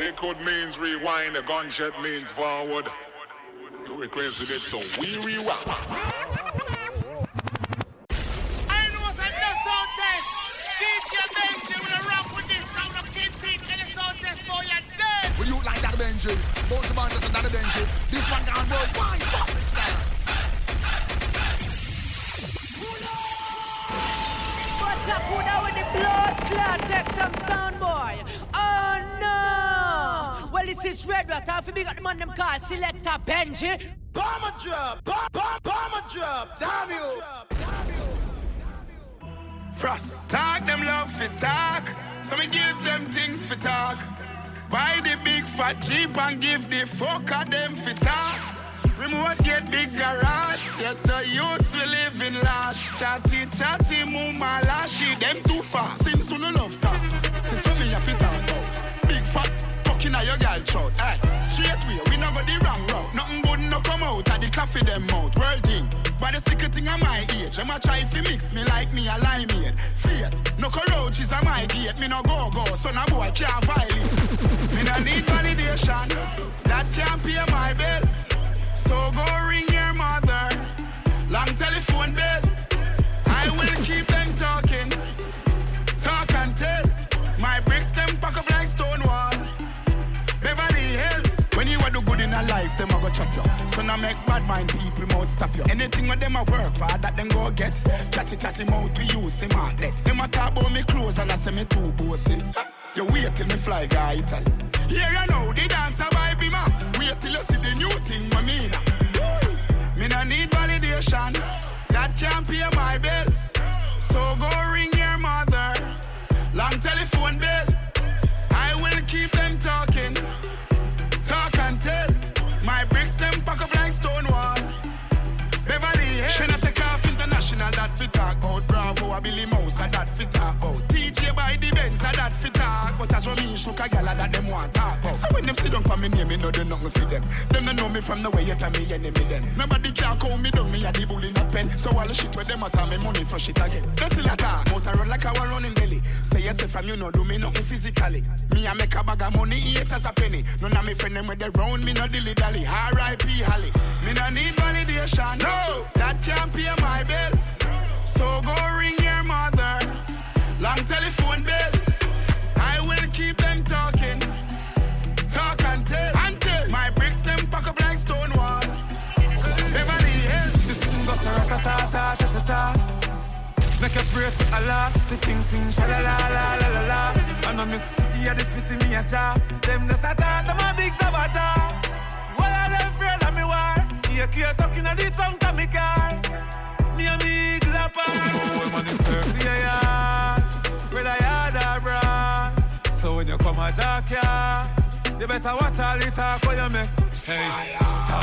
Liquid means rewind, a gunshot means forward. You requested it, so we rewind. I know what's another sound test. DJ Benji will rock with this round of Kingpin and the sound test for your dead. Will you like that Benji? Both the bands and that Benji. This one gone worldwide, boxing style. What's up, who now with the blood clot? Take some sound, boy. Oh no! Well, this is Red Rat. If you big up the man them call Selector Benji. Bomber drop, bomber drop, damn you. Frost, talk them love for talk. So me give them things for talk. Buy the big fat Jeep and give the fuck of them for talk. Remote get big garage. Get the youths we live in large. Chatty, mama, lashy. Them too fast. Since you no love talk. Since you me a fit talk about. Big fat fucking a your girl throat. Hey, straight way, we no go the wrong route. Nothing good no come out of the coffee them mouth. World thing. But the secret thing of my age. I'ma try fi mix me like me a limeade. Faith, no cockroaches a my gate. Me no go, so no boy can't violate. Me no need validation. That can't pay my bills. So go ring your mother. Long telephone bill. I will keep them talking. Talk and tell. My bricks them pack up like Stonewall. Beverly Hills. When you are do good in a life, them a go chat you. So now make bad mind people mouth stop you. Anything with them a work for that them go get. Chatty mouth to use him out let. Them a talk about me clothes and I say me too bossy. You wait till me fly guy Italy. Here you know the dancer vibe him up. Wait till you see the new thing I mean. Me no need validation. That can't pay my bills. So go ring your mother. Long telephone bill. I will keep them talking. Talk and tell. My bricks them pack up like Stonewall. Beverly Hills. She not take off international that fit talk about. Bravo a Billy Mouse a that fit talk about. TJ by the Benz a that fit talk. But as for me shook a gal a that them want talk about. So when them sit down for me name me know do nothing for them. Them don't know me from the way you tell me enemy then. Nobody can call me down me a the bull in a pen. So all the shit where them a tell me money for shit again. They still a talk. Mouth a run like our running belly. Say yes from you no do me nothing physically. Me a make a bag of money eat as a penny. None of me friend them with the round me no dilly dally. R.I.P. Holly. Me no need validation. No, that can't pay my bills. So go ring your mother. Long telephone bill. I will keep them talking. Talk and tell. My bricks them pack up like Stonewall. Beverly Hills. The sing goes ta-ta-ta-ta-ta-ta. Make a pray to Allah. The king sing sha-la-la-la-la-la-la. I know Miss Kitty a this with me a cha. Them the satan, them a big tabata. What are them afraid of me war? You can't talking at the tongue to me car. Me a big lapper. Oh, money serve the yard. Where the yard are bra. So when you come a jack ya, you better watch all the talk what you make. Hey,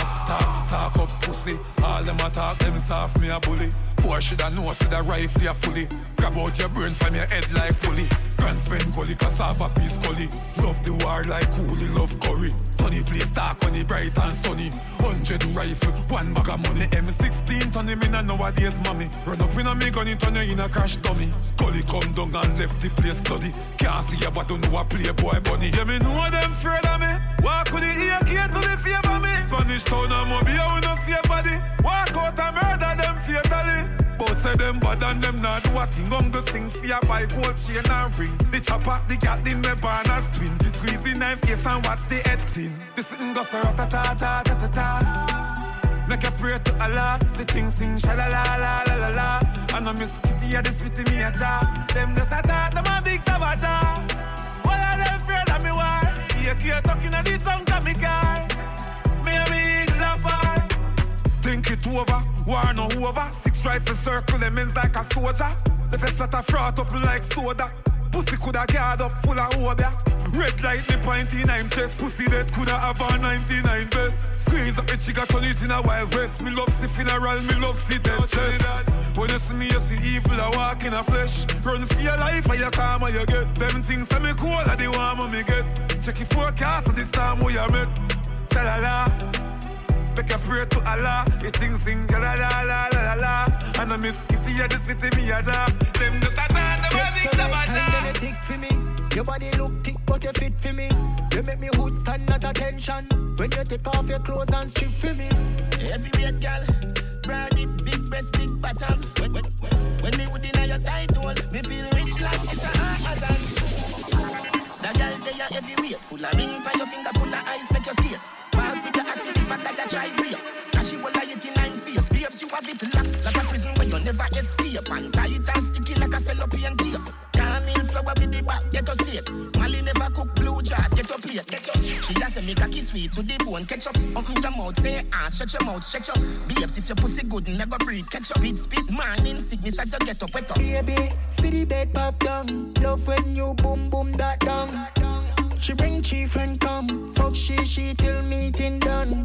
talk up pussy. All them a talk, them soft me a bully. Boy shoulda know see the rifle ya fully. Grab out your brain from your head like pulley. Grand spend gully, cassava piece gully. Love the war like coolie, love curry. Tony place dark on the bright and sunny. 100 rifle, one bag of money. M16 turn him in a nowadays mommy. Run up in a me gun, it turn you in a crash dummy. Gully come down and left the place bloody. Can't see ya but don't know a playboy bunny. Yeah me know them afraid of me. Walk with the AK to the favor me. Spanish town and Mobile we no see a body. Walk out and murder them fatally. Both say them bad and them not do a thing. Gon' go sing for ya buy gold chain and ring. The chopper, the cat in me barn as twin. Squeeze the knife face and watch the head spin. The sing goes ra-ta-ta-ta-ta-ta-ta. Make a prayer to Allah. The thing sing sha-la-la-la-la-la-la. I know Miss Kitty a this with me a cha. Them the satan, them a big tabata. What are them afraid of me war? You can't talking at the tongue to me car. Me a big lapper. Think it over, war no over. 6 rifles circle them ends like a soldier. The face that a froth up like soda. Pussy coulda guard up full of obia. Red light me pointy in I'm chest. Pussy that coulda have a 99 vest. Squeeze up the chica, turn it in a wild west. Me love see funeral, me love see dead chest. When you see me, you see evil a walk in a flesh. Run for your life or you calm or you get. Them things that me cool are the warmer me get. Check your forecast at this time where you met. Cha-la-la. Make a prayer to Allah. The things sing la-la-la-la-la-la. And I Miss Kitty, you just pity me a job. Them just a dance, them a big tabata. You Your body look thick, but you fit for me. You make me hood stand at attention. When you take off your clothes and strip for me. Heavyweight girl, broad it, big breast, big bottom. When me would deny your title, me feel rich like it's a Amazon. That girl they are heavyweight, full of ring by your finger, full of ice, make you skate. Park with the acid if I got that try real. Cause she will lie it in 9 face. Babes, you have it locked like a prison where you never escape. And tight and sticky like a cellophane tape. Camille flower with the back, get us straight. Molly never cook blue jars, get your plate. She has a make a kiss sweet to the bone, catch up. Open your mouth, say stretch your mouth, stretch up. Babes, if your pussy good, never breathe, catch up. Spit man in sickness as you get up, wet up. Baby, see the bed pop down. Love when you boom boom that down. She bring chief and come. Fuck she till meeting done.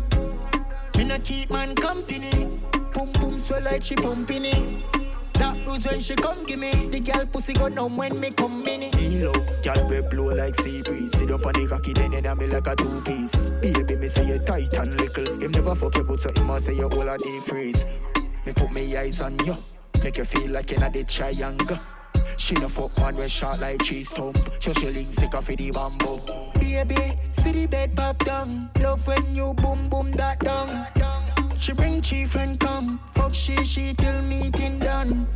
Me not keep man company. Boom boom swell like she pumping it. That bruise when she come give me. The girl pussy go numb when me come in it. In love, girl we blow like sea breeze. Sit up on the cocky then you me like a 2-piece. Baby me say you tight and little. Him never fuck you good so him a say you all a deep freeze. Me put me eyes on you. Make you feel like you're not the triangle. She no fuck man when short like cheese stump. So she link sick off the bamboo. Baby, see the bed pop down. Love when you boom boom that down. She bring chief and come. Fuck she till meeting done.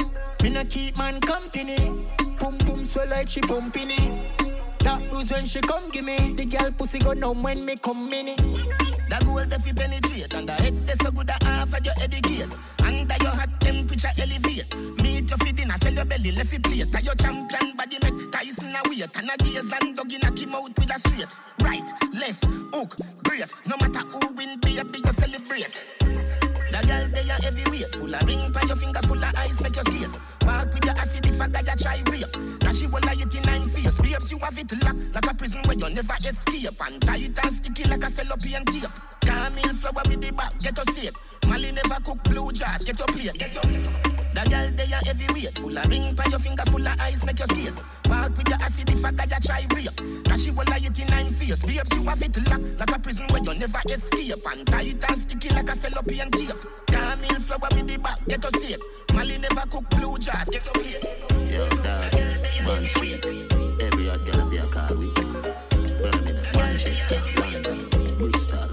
Me not keep man company. Boom boom swell like she pumping it. That bruise when she come give me. The girl pussy go numb when me come in it. The gold if you penetrate. And the head that's so good at half of your educate. Under your hot temperature elevate. Meet your feeding and sell your belly left it plate. And your champion body make Tyson a weight. And a gaze and dog in a kim out with a straight. Right, left, hook, great. No matter who win, baby, you celebrate. The girl they are heavyweight. Full of ring by your finger, full of ice, make you skate. Park with the acid if a guy a try rape. Cause she will lie it in 9 face. Babes, you have it locked like a prison where you never escape. And tight and sticky like a cellophane tape. Camille flower with the back, get your steak. Molly never cook blue jars, get your plate. The girl they are heavyweight. Full of ring by your finger, full of ice, make you skate. Park with the acid if a guy a try rape. Cause she will lie it in 9 face. Babes, you have it locked like a prison where you never escape. And tight and sticky like a cellophane tape. Camille flower with the back, get your steak. Molly never cook blue jars, get your plate. Yo, dad, man street. Every hot girl of your car with Birmingham, Manchester, London, Bristol.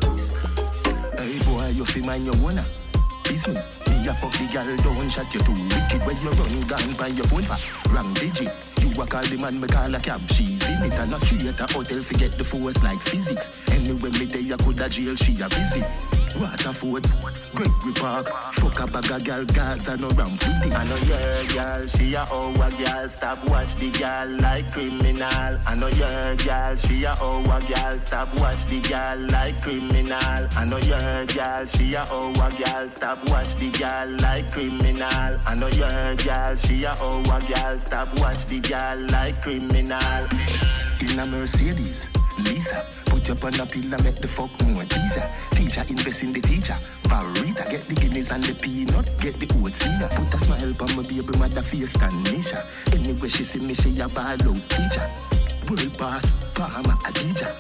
Hey boy, you feel mind your owner business. Me a fuck the girl, don't shut you too wicked. When you run gun by your phone for wrong digit. You a call the man, me call a cab. She's in it and a street at a hotel. Forget the force like physics. Anyway, me day I could a jail, she a visit. Waterford, Gregory Park. Fuck a bag of girl, Gaza no ramp with it. I know your girl, she a our girl. Stop watch the girl like criminal. I know your girl, she a our girl. Stop watch the girl like criminal. I know your girl, she a our girl. Stop watch the girl like criminal. I know your girl, she a our girl. Stop watch the girl like criminal. In a Mercedes, Lisa. Put up on a pillar, make the fuck more teaser. Teacher invest in the teacher. Barita, get the guineas and the peanut. Get the oats in her. Put a smile on my baby mother face and Nisha. Anyway she see me, she a ball out teacher. World boss, farmer, a teacher.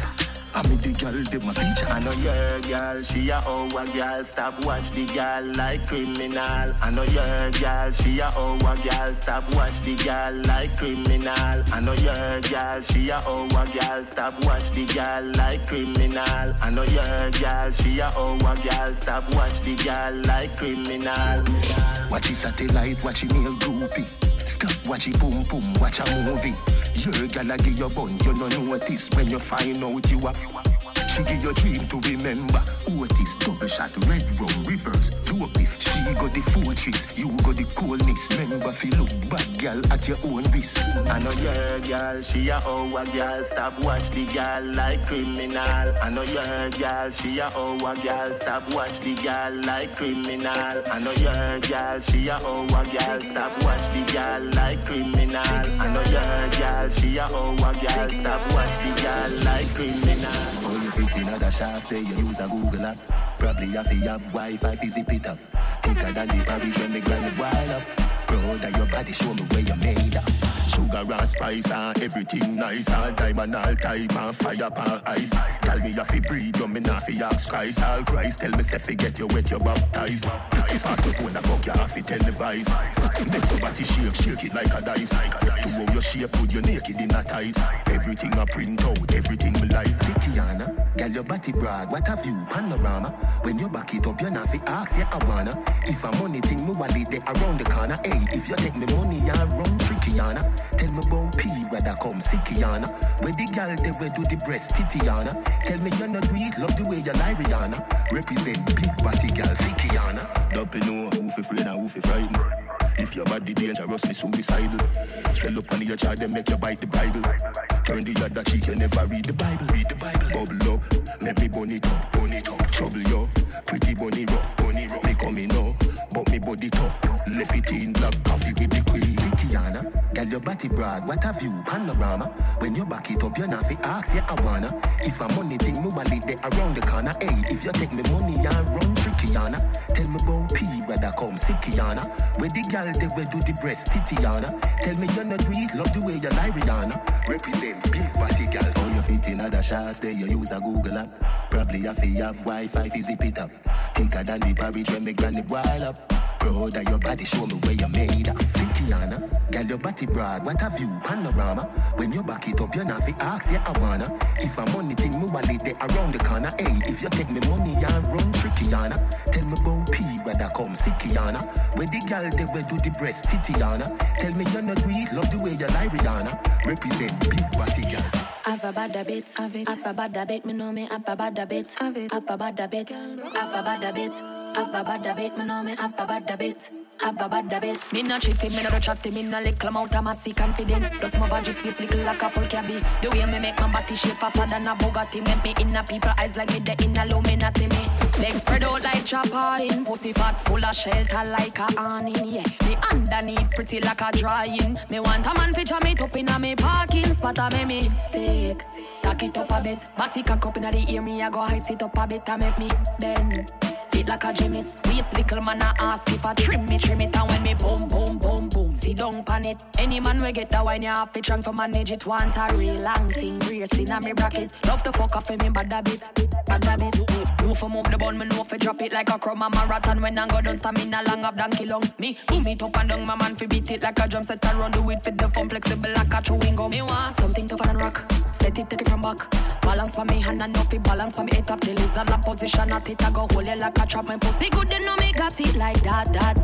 I mean the girl, they my feature. I know your girl, she a our girl. Stop watch the girl like criminal. I know your girl, she a our girl. Stop watch the girl like criminal. I know your girl, she a our girl. Stop watch the girl like criminal. I know your girl, she a our girl. Stop watch the girl like criminal. Watch it satellite, watch it nail groupie. Stop watch it boom boom, watch a movie. Your girl a give your bun, you no notice when you find out you are. She give your dream to remember. Otis, double shot, red rum, reverse, drop this. She got the fortress, you got the coolness. Remember if you look back, girl, at your own risk. I know your girl, she a our girl. Stop watch the girl like criminal. I know your girl, she a our girl. Stop watch the girl like criminal. I know your girl, she a our girl. Stop watch the girl like criminal. I know your girl, she a our girl. Stop watch the girl like criminal. In other shaft, say you use a Google app. Probably have to have Wi-Fi to zip it up. Thicker than the Paris when they grind it wild up. Proud of your body, show me where you made up. Sugar and spice and everything nice. All diamond, all type and fire pan ice. Tell me you fi breathe, you me not fi ask Christ. All Christ, tell me say get you wet, you baptized. Pass the phone, the fuck you have to televise. Make your body shake, shake it like a dice. To how you your shape good, you naked in a tight. Everything I print out, everything we like. Tikiana, girl your body brag, what have you, panorama? When you back it up, you not fi ask, yeah I wanna. If a money thing, me wallet there around the corner. Hey, if you take me money, you run trickyana. Tell me about P, whether come sickyana. Where the girl they will do the breast titiana. Tell me you not do it, love the way you lie, Rihanna. Represent big body girl, sickyana. Don't you know who fi afraid and who fi frightened. If your body dangerously suicidal, swell up on your child, then make you bite the Bible. Turn the other cheek, you never read the Bible. Read the Bible. Bubble up, let me bun it up, bun it up. Trouble yo, pretty bunny rough, bunny rough. Me coming now, but me body tough. Left it in black coffee with the queen. Tikiana, girl your body brag, what have you, panorama? When you back it up, you not fi ask, yeah I wanna. If a money thing, me wallet there around the corner. Hey, if you take me money, you run trickyana. Tell me about P, whether come sickyana. Where the girl they will do the breast titiana. Tell me you not do it, love the way you lie, Rihanna. Represent big body girl. All your feet in other shots, there you use a Google app. Probably if you have Wi-Fi, zip it up. Thicker than the porridge when me granny boil up. Brother, your body show me where you made up. Tikiana, girl your body brag, what have you, panorama? When you back it up, you not fi ask, yeah I wanna. If a money thing, me wallet there around the corner. Hey, if you take me money, you run trickyana. Tell me about P, whether come sickyana. Where the girl they will do the breast titiana. Tell me you not do it, love the way you lie, Rihanna. Represent big body girl. Have a bad habit, have it. Have a bad habit, me know me. Have a bad habit, have it. Have a bad habit, have a bad habit. Have a bad habit, me know me. Have a bad habit. Have a bad habit. Me not cheating, me not chatting, me not little amount of massy confident. Plus my body space little like a Paul cabby. The way me make my body shape faster than a Bugatti. Make me in a people eyes like me the in a low me not me. Legs spread out like trampoline. Pussy fat full of shelter like a awning. Yeah, me underneath pretty like a drying. Me want a man feature me top in a me parking spot a me take. Tack it up a bit. Body cock up in the ear me I go high sit up a bit and make me bend. Fit like a gymnast. Waist little man a ask if I trim it and when me boom boom boom boom. See don't pan it. Any man we get that wine you have to try to manage it. Want a real long thing brace in a me bracket. Love to fuck off in me bad habit. Bad habit. No for move the bun me no for drop it like a crumb a marathon. When I go down stamina long up donkey long. Me boom it up and down my man fi beat it like a drum set around do it fit the fun flexible like a chewing gum. Me want something tougher than rock. Set it take it from back. Balance for me hand and up it balance for me head up. The lizard la position at it I go hold it like a trap. My pussy good they know me got it like that.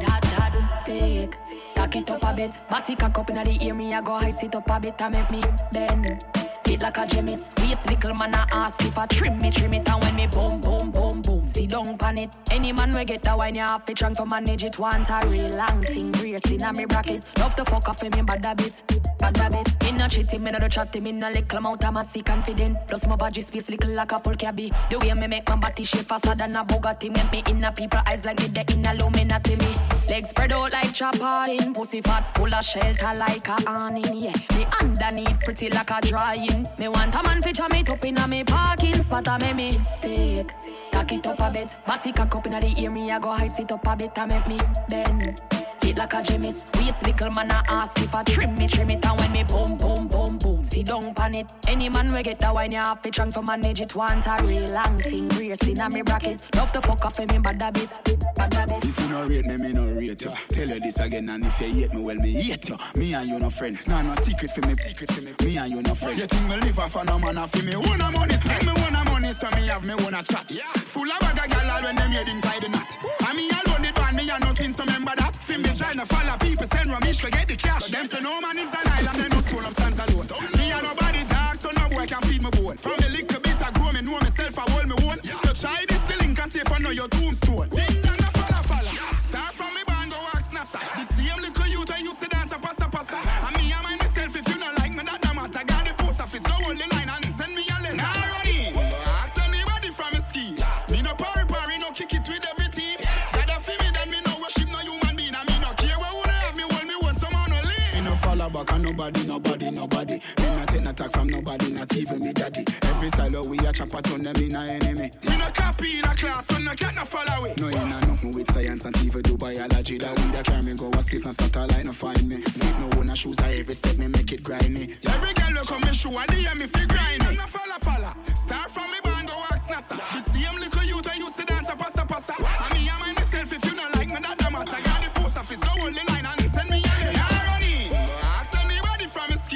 Take tack it up a bit. Body cock up in the ear me I go high sit up a bit and make me bend. Fit like a gymnast. Waist little man a ask if I trim it and when me boom boom boom boom. See don't pan it. Any man we get that wine you have to try to manage it. Want a real long thing brace in a me bracket. Love to fuck off in me bad habit. Bad habit. Me no cheating, me no chatting, me no little amount of massy confident. Plus my body space little like a Paul cabby. The way me make my body shape faster than a Bugatti. Make me in a people eyes like me the in a low me not me. Legs spread out like trampoline. Pussy fat full of shelter like a awning. Yeah, me underneath pretty like a drying. Me want a man feature me top in a me parking spot a me take. Tack it up a bit. Body cock up in the ear me I go high sit up a bit and make me bend. Fit like a gymnast. Waist little man a ask if I trim it and when me boom boom boom boom. See don't pan it. Any man we get that wine you have to try to manage it. Want a real long thing brace in a me bracket. Love to fuck off in me bad habit. Bad habit. If you no rate me no rate you. Tell you this again and if you hate me well me hate you. Me and you no friend. Nah no secret for me. Me and you no friend. You think me live off no man off me own a money. Spend me own a money so me have me own a chat. Yeah. Full of bag of gal all when them heading tie the knot. And me alone it one me and no twins so remember that. Film me trying to follow people send Ramesh to get the cash. But them say no man is an island they no school of stands alone. Me and nobody dog so no boy can feed me bone. From the little bit I grow me know myself I hold me own. So try this the link and see if I know your tombstone. Ding dong no follow. Start from me band go wax nasa. The same little youth I used to dance a passa. And me and myself if you not like me that no matter. Got the post office go hold the line and send me a letter. Now run in. Ask anybody from a ski. Me no parry no kick it with every team. Gotta feel me then me no worship no human being. And me no care where who have me hold me one someone no leave. Me no follow back and nobody. Me not take no attack from nobody, not even me daddy. Every style we a chop a turn them in a enemy. Me no copy in a class, so no cat no follow it. No, you know nothing with science and even do biology. That we that carry me go a space, no satellite, no find me. Feet no one shoes, I every step me make it grimy. Every girl look on me shoe, and they me feel grimy. No follow. Start from me band, go ask NASA. The same little youth I used to dance a passa. And me and myself, if you not like me, that no matter. Got the post office, go hold the line and send me a letter. Now run in. Ask anybody from a ski.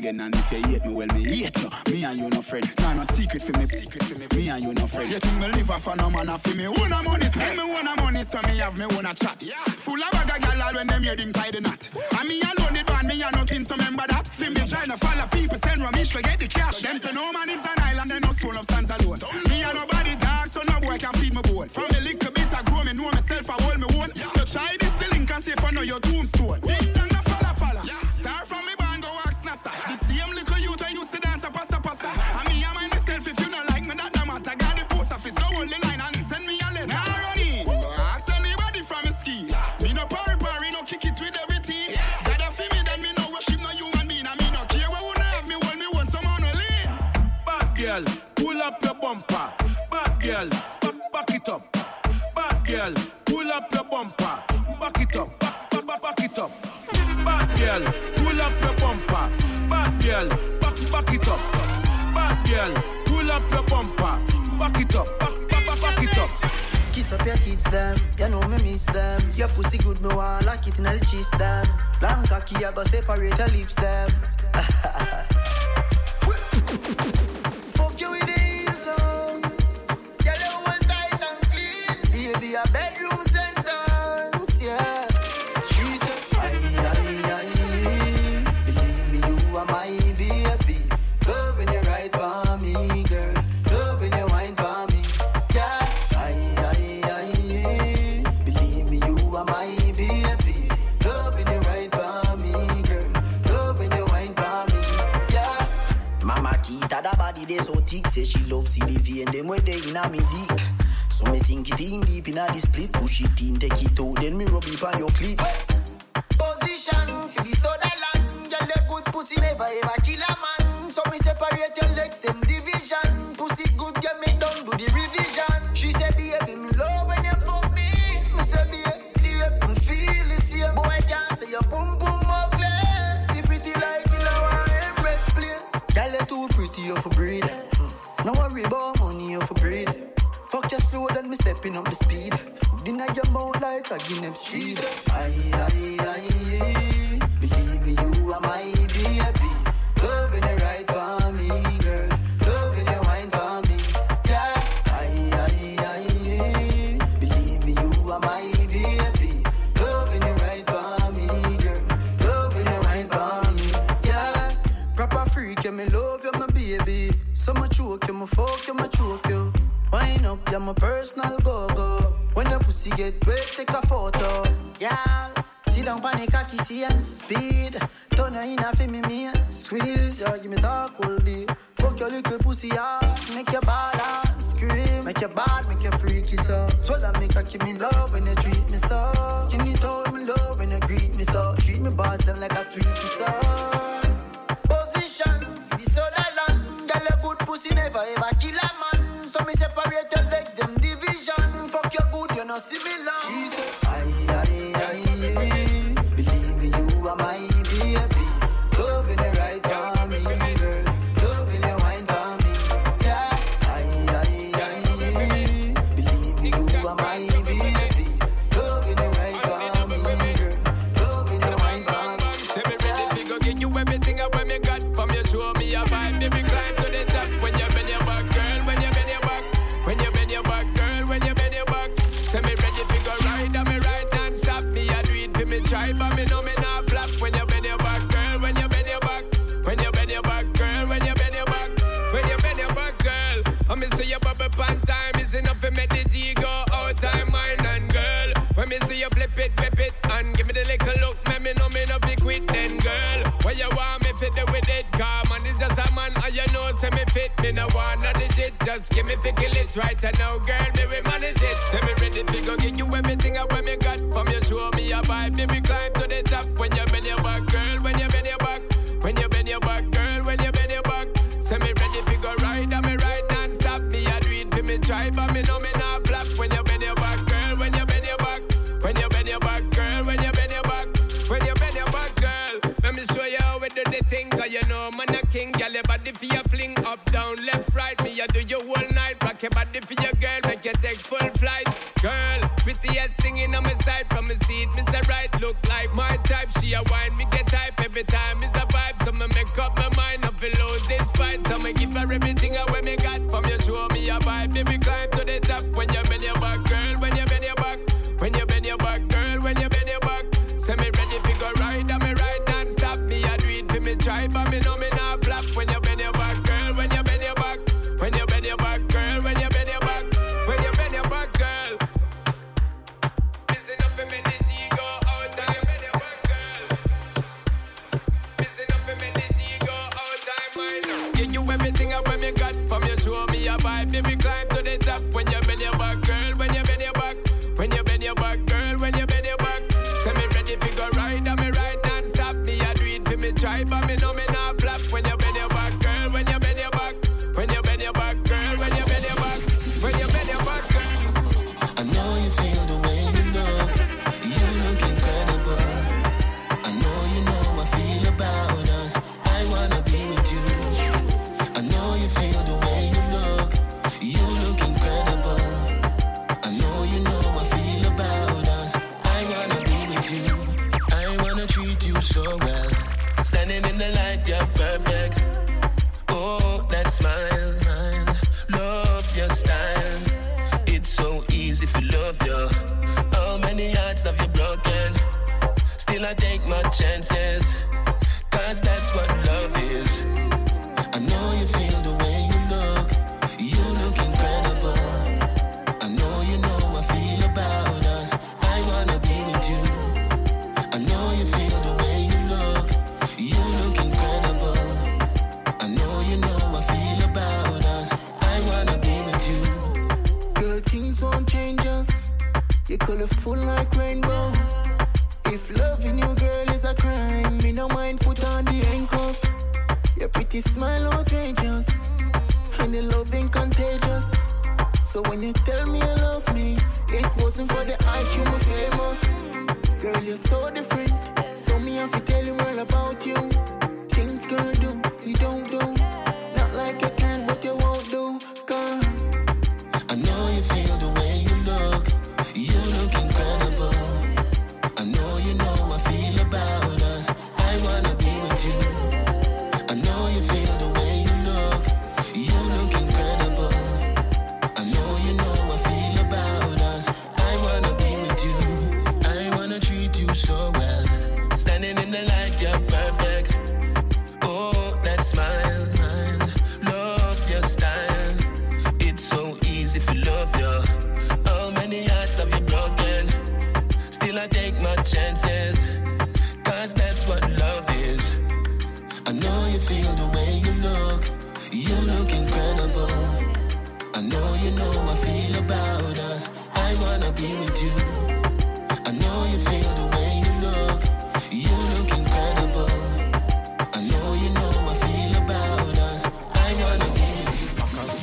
again. And if you hate me, well, me hate you. Me and you no friend. Nah, no secret for me. Me and you no friend. You think me live off for no man for me? Who no money spend? Me wanna money, so me have me wanna chat. Full of bag of gal all when them hearing tie the knot. And me alone the band, me and nothing, so remember that. See me trying to follow people, send Ramesh to get the cash. Them say no man is an island, they no stone of sands alone. Me and nobody dog, so no boy can feed me bone. From the little bit I grow, me know myself, I hold me own. So try this the link and see if I know your tombstone. Ding dong no falla. Start from me band, go ask NASA. The same little youth I used to dance a passa. And me and myself, if you don't like me, that no matter. Got the post office, go hold the line and send me a letter. Now run in, ask anybody from a ski. Me no parry, no kick it with everything. Gotta feel me, then me no worship no human being. And me no care where who have me, hold me one, someone will leave. Bad girl, pull up your bumper. Bad girl, back it up. Bad girl, pull up your bumper. Back it up, back it up. Bad girl, pull up your bumper. Bad girl, back it up. Bad girl, pull up your bumper. Back it up, back it up. Kiss up your kids, them. You know me miss them. Your pussy good, me want like it in the cheese, them. Long cocky, I go separate your lips, them. Fuck you with the ease on. Girl, you hold tight and clean. Baby, a bedroom sentence, yeah. She said, aye. Believe me, you are my baby. Loving you right for me, girl. Loving you wine for me, yeah. Aye. Believe me, you are my baby. Loving you right for me, girl. Loving you wine for me, yeah. Mama Kita, that body they so thick. Say she loves CDV and them way they in a me dick. So me sink it in deep in a the split. Push it in, take it out, then me rub it on your clit. Position for the soda land. Girl, the good pussy never ever kill a man. So me separate your legs, them division. Pussy good, get me done, do the revision. She said, baby, me love when you fuck me. Me say, baby, me feel the same. Boy, can't say your boom ugly. You pretty like you know I am breast play. Girl, you too pretty, you for breed. No worry about money, you for breed. Fuck you slow, then me stepping up the speed. Deny your mouth like a Guinness seed. Aye. Believe me, you are my baby. Loving you right for me, girl. Loving you wine for me, yeah. Aye. Believe me, you are my baby. Loving you right for me, girl. Loving you wine for me, yeah. Proper freak, yeah, me love you, my baby. So much choke you, my fuck you, my choke you. Wine up, you're my personal go-go. When the pussy get wet, take a photo. Yeah, sit down, panic, cocky, see and speed. Turn her in a me, squeeze. Yeah, give me talk all day. Fuck your little pussy, yeah. Make your bad ass scream. Make your bad, make your freaky so. Swallow me, cocky, me love when you treat me so. Give me told me love when you greet me so. Treat me boss them like a sweetie so. Position, the soda land. Girl, a good pussy never ever kill a man. So me separate your legs, them division. Fuck your good, you no similar. She said, aye. Believe me, you are my baby. Loving you right for me, girl. Loving you wine for me, yeah. Aye. Believe me, you are my baby. Loving you right for me, girl. Loving you wine for me. Say me ready to go get you everything I want me got from you. Show me a vibe, baby, climb to the top. When you bend your back, girl, when you bend your back. When you bend your back, girl, when you bend your back. Say me ready to go ride, and me ride non-stop. Me I do it for me tribe, but me know me not flop. When you bend your back, girl, when you bend your back. When you bend your back, girl, when you bend your back. When you bend your back, girl. I me see you bubble pan time is enough to make the G go out time, mine and girl. When me see you flip it, and give me the little look, me know me no be quit then, girl. When you want me fit it with it, car man is just a man, and you know say me fit. Me no want no digit, just give me fi kill it right and now, girl, me we manage it. Say me ready to go get you everything I want me got from you. Show me a vibe, baby, climb to the top. When you bend your back, girl, when you bend your back. When you bend your back, girl, when you bend your back. Say me ready to go ride, and me ride non-stop. Me I do it for me try, but me know me not flop. When you bend your back, girl, when you bend your back. When you bend your back, girl, when you bend your back. When you bend your back, girl. Let me show you how we do the thing, cause you know man a king. Girl, your body for your fling, up, down, left, right. Me I do you all night, rock your body for your girl, make you take full flight. Girl, prettiest thing in on my side, from my seat, Mr. Right, look like my type. She a wine, me get hype every time, it's a vibe, so me make up my mind. feel lose this fight. So me give her everything away me got. From you show me a vibe, baby climb to the top. When you bend your back, girl, when you bend your back. When you bend your back, girl, when you bend your back. Say me ready to go ride, and me ride non-stop. Me a do it for me try, but me know me not flop. When you bend your back, girl, when you bend your back. When you bend your back, girl, when you bend your back. When you bend your back, girl. Missing up for me, the G go out, and you bend your back, girl. Missing up for me, the G go out, time right now. Give you everything I when me got. From you show me a vibe, baby climb to the top. When you bend your back, girl, when you bend your back. When you bend your back, girl, when you bend your back. Say me ready to go ride, and me ride non-stop. Me a do it for me try, but me know me not flop. When you bend your back, girl, when you bend your back. When you bend your back, girl, when you bend your back. When you bend your back, girl. I know you feel the way you look. You look incredible. I know you know I feel about us. I wanna be with you. I know you feel the way you look. You look incredible. I know you know I feel about us. I wanna be with you. I wanna treat you so well. Standing in the light, you're perfect. Oh, that smile, love your style. It's so easy to love you. How many hearts have you broken? Still I take my chances, 'cause that's what love is. I know you feel the way you look. You look incredible. I know you know I feel about us. I wanna be with you. I know you feel the way you look. You look incredible. I know you know I feel about us. I wanna be with you. Girl, things won't change us. You're colorful like rainbow. If loving you, girl, is a crime, me no mind put on the handcuff. Your pretty smile outrageous, and your loving contagious. So when you tell me you love me, it wasn't for the hype, you were famous. Girl, you're so different, so me have to tell you all about you. Things girl do, you don't do. Not like you can, but you won't do, girl. I know you feel the way you look. You look incredible. I know you know I feel about us. I wanna be with you. I know you feel the way you look. You look incredible. I know you know I feel about us. I wanna be with you. I wanna treat you so well. Standing in the light, you're perfect. Oh, that smile, love your style. It's so easy to love you. How many hearts have you broken? Still I take my chances, 'cause that's what love is. I know you feel the way you look. You look incredible. I know you know I feel about us. I wanna be with you. I know you feel the way you look. You look incredible. I know you know I feel about us. I wanna be with you.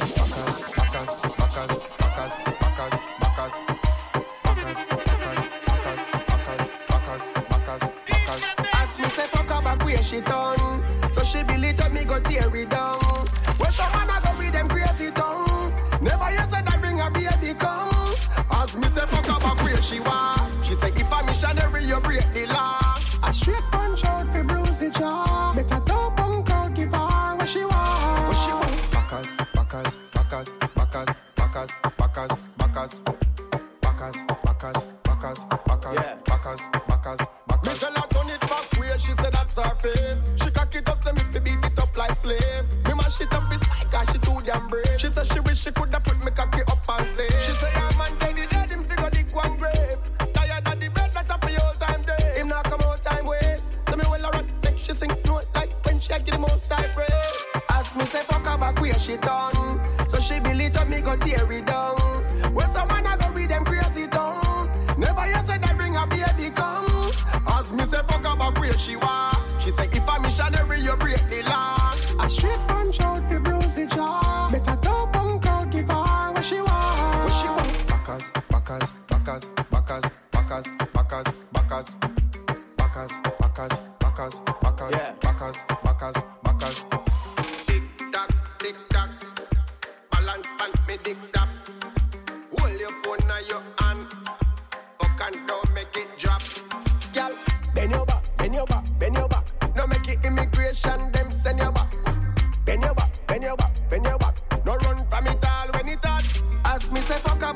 As me say fuck her back where she done, so she believe that me go tear it down. When someone I go with them crazy tongue, never you said that bring a baby come. As me say fuck her back where she was, she say if I'm missionary you break the law. A straight punch out fi bruise the jaw. Better top and crowd give her what she want. What she want? Backers, backers, backers, backers, backers, backers, backers, backers, backers, backers, backers, backers, backers, backers. Me tell her turn it back where she said that's her fave. She cock it up, say me fi beat it up like slave. Me mash it up, it's like cause she too damn brave. She said she wish she coulda put me cocky up and say. She say her man dead, he dead, him figure dig one grave. Tired of the bread, that up for your time day. Him not come out time waste. So me well a run, make she sing note like when she get the most type praise. As me say fuck her back where she done, so she believe that me go tear it down. When someone I go with them crazy tongue, never you said that bring a baby come. As me say fuck her back where she was, she say if I'm missionary you break the law. A straight punch out fi bruise the jaw. Better top and crowd give her what she want. What she want? Backers, backers, backers, backers, backers, backers, backers, backers, backers, backers, backers, backers, backers, backers. Tick tock, balance and me dig that. Hold your phone on your hand, up and down make it drop. Girl, bend your back, bend your back, bend your back. No make it immigration, them send your back.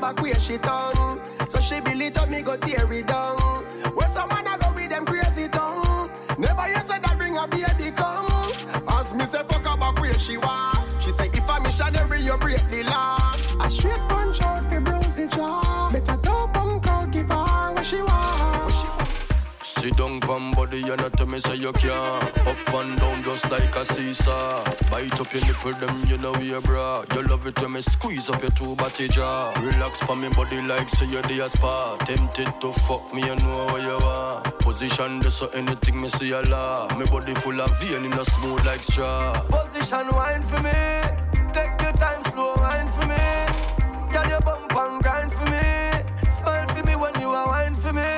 back where she turn. So she build it up, me go tear it down. Where someone I go with them crazy tongue. Never you said that bring a baby come. As me say fuck her back where she want. She say if a missionary you break the law. A straight punch out for bruising jaw. Better top and cold give her what she want. Sit down pam body and not tell me say you can't. Up and down just like a seesaw. Bite up your nipple them you know we a bra. You love it when me squeeze up your two body jaw. Relax pa me body like say you're the spa. Tempted to fuck me you know where you are. Position this so anything me see a law. Me body full of vein in a smooth like straw. Position wine for me. Take your time slow wine for me. Girl your bump and grind for me. Smile for me when you are wine for me.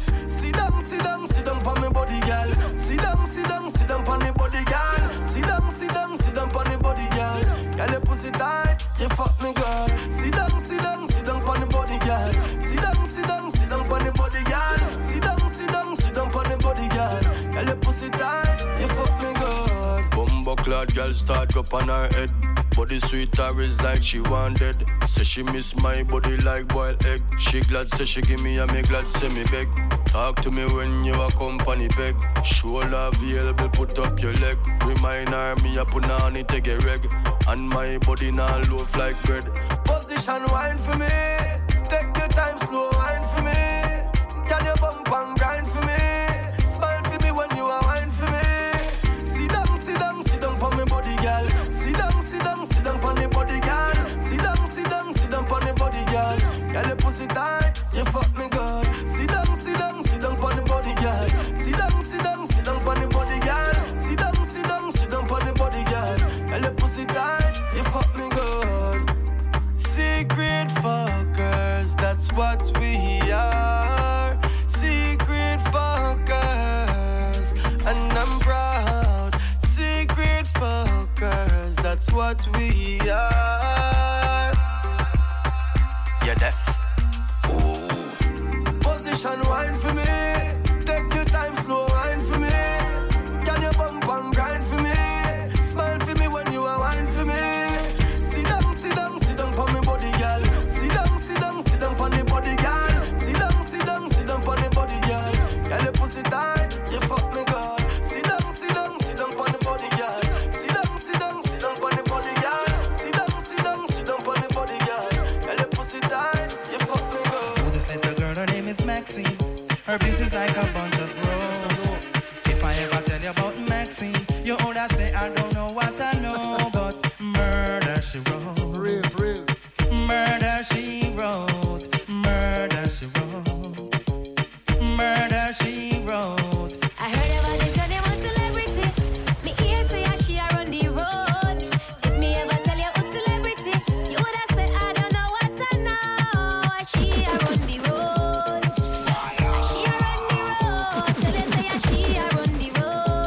Sit down pon me body, girl. Sit down pon the body, girl. Sit down pon the body, girl. Girl, your pussy tight, you fuck me, girl. Sit down pon the body, girl. Sit down pon the body, girl. Sit down pon the body, girl. Girl, your pussy tight, you fuck me, girl. Bumbo clad girl start up on her head. Body sweet her is like she wanted. Say she miss my body like boiled egg. She glad say she give me and me glad say me beg. Talk to me when you a company beg. Shoulder available, put up your leg. Remind her me a put on it take a reg. And my body now loaf like bread. Position wine for me. Take your time slow wine for me. Girl your bump and grind for me. Smile for me when you are wine for me. Sit down pon me body girl. Sit down pon the body girl. Sit down pon the body girl. Girl your pussy tight, you fuck me good. Sit down pon the body girl. Sit down pon the body girl. Sit down pon the body girl. Girl your pussy tight, you fuck me good. Secret fuckers, that's what we are. Secret fuckers, and I'm proud. Secret fuckers, that's what we are. You're deaf. Ooh. Position wine for me. Take your time slow wine for me. Can you bump and grind for me? Smile for me when you are wine for me. Sit down pon me body, girl. Sit down pon the body, girl. Sit down pon the body, girl. Girl, your pussy tight, you fuck me good. Sit down pon the body, girl. Sit down pon the body, girl. Sit down pon the body, girl. Girl, your pussy tight, you fuck me good. Oh, this little girl, her name is Maxine. Her beauty's like a bunch of roses. If I ever tell you about Maxine, you older say I don't know what I know, but murder she wrote. Real. Murder she wrote. Murder she wrote. Murder she wrote. I heard about this girl, they want celebrity. Me ear say she a run the road. If me ever tell you who's celebrity, you woulda say I don't know what I know. She a run the road. She a run the road. Tell you say she a run the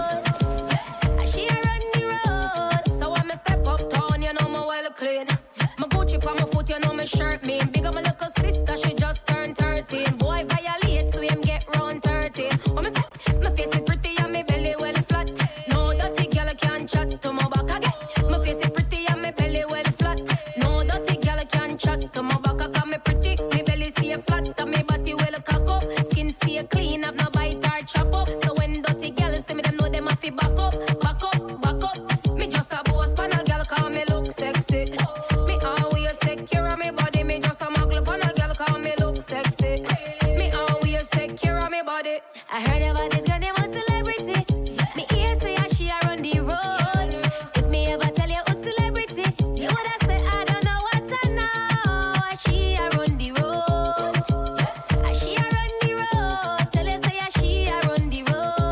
road. She a run the road. So when me step up town, you know me well clean. My Gucci on my foot, you know me shirt mean. Big up my little sister, she just turned 13. Boy violate, so him get round 13. When me say, my face is pretty and my belly well flat. No dirty girl can chat to my back again. My face is pretty and my belly well flat. No dirty girl can chat to my back again. Me pretty, my belly stay flat and my body well cock up. Skin stay clean, have no bite or chop up. So when dirty girl see me, them know them have to back up. Me just a boss pan a girl call me look sexy. Me always take care of me body. Me just a muggle pan a girl call me look sexy. Me always take care of me body. I heard about this girl, they want celebrity. Me ear say she a run the road. If me ever tell you who's celebrity, you woulda say I don't know what I know. She a run the road. She a run the road. Tell you say she a run the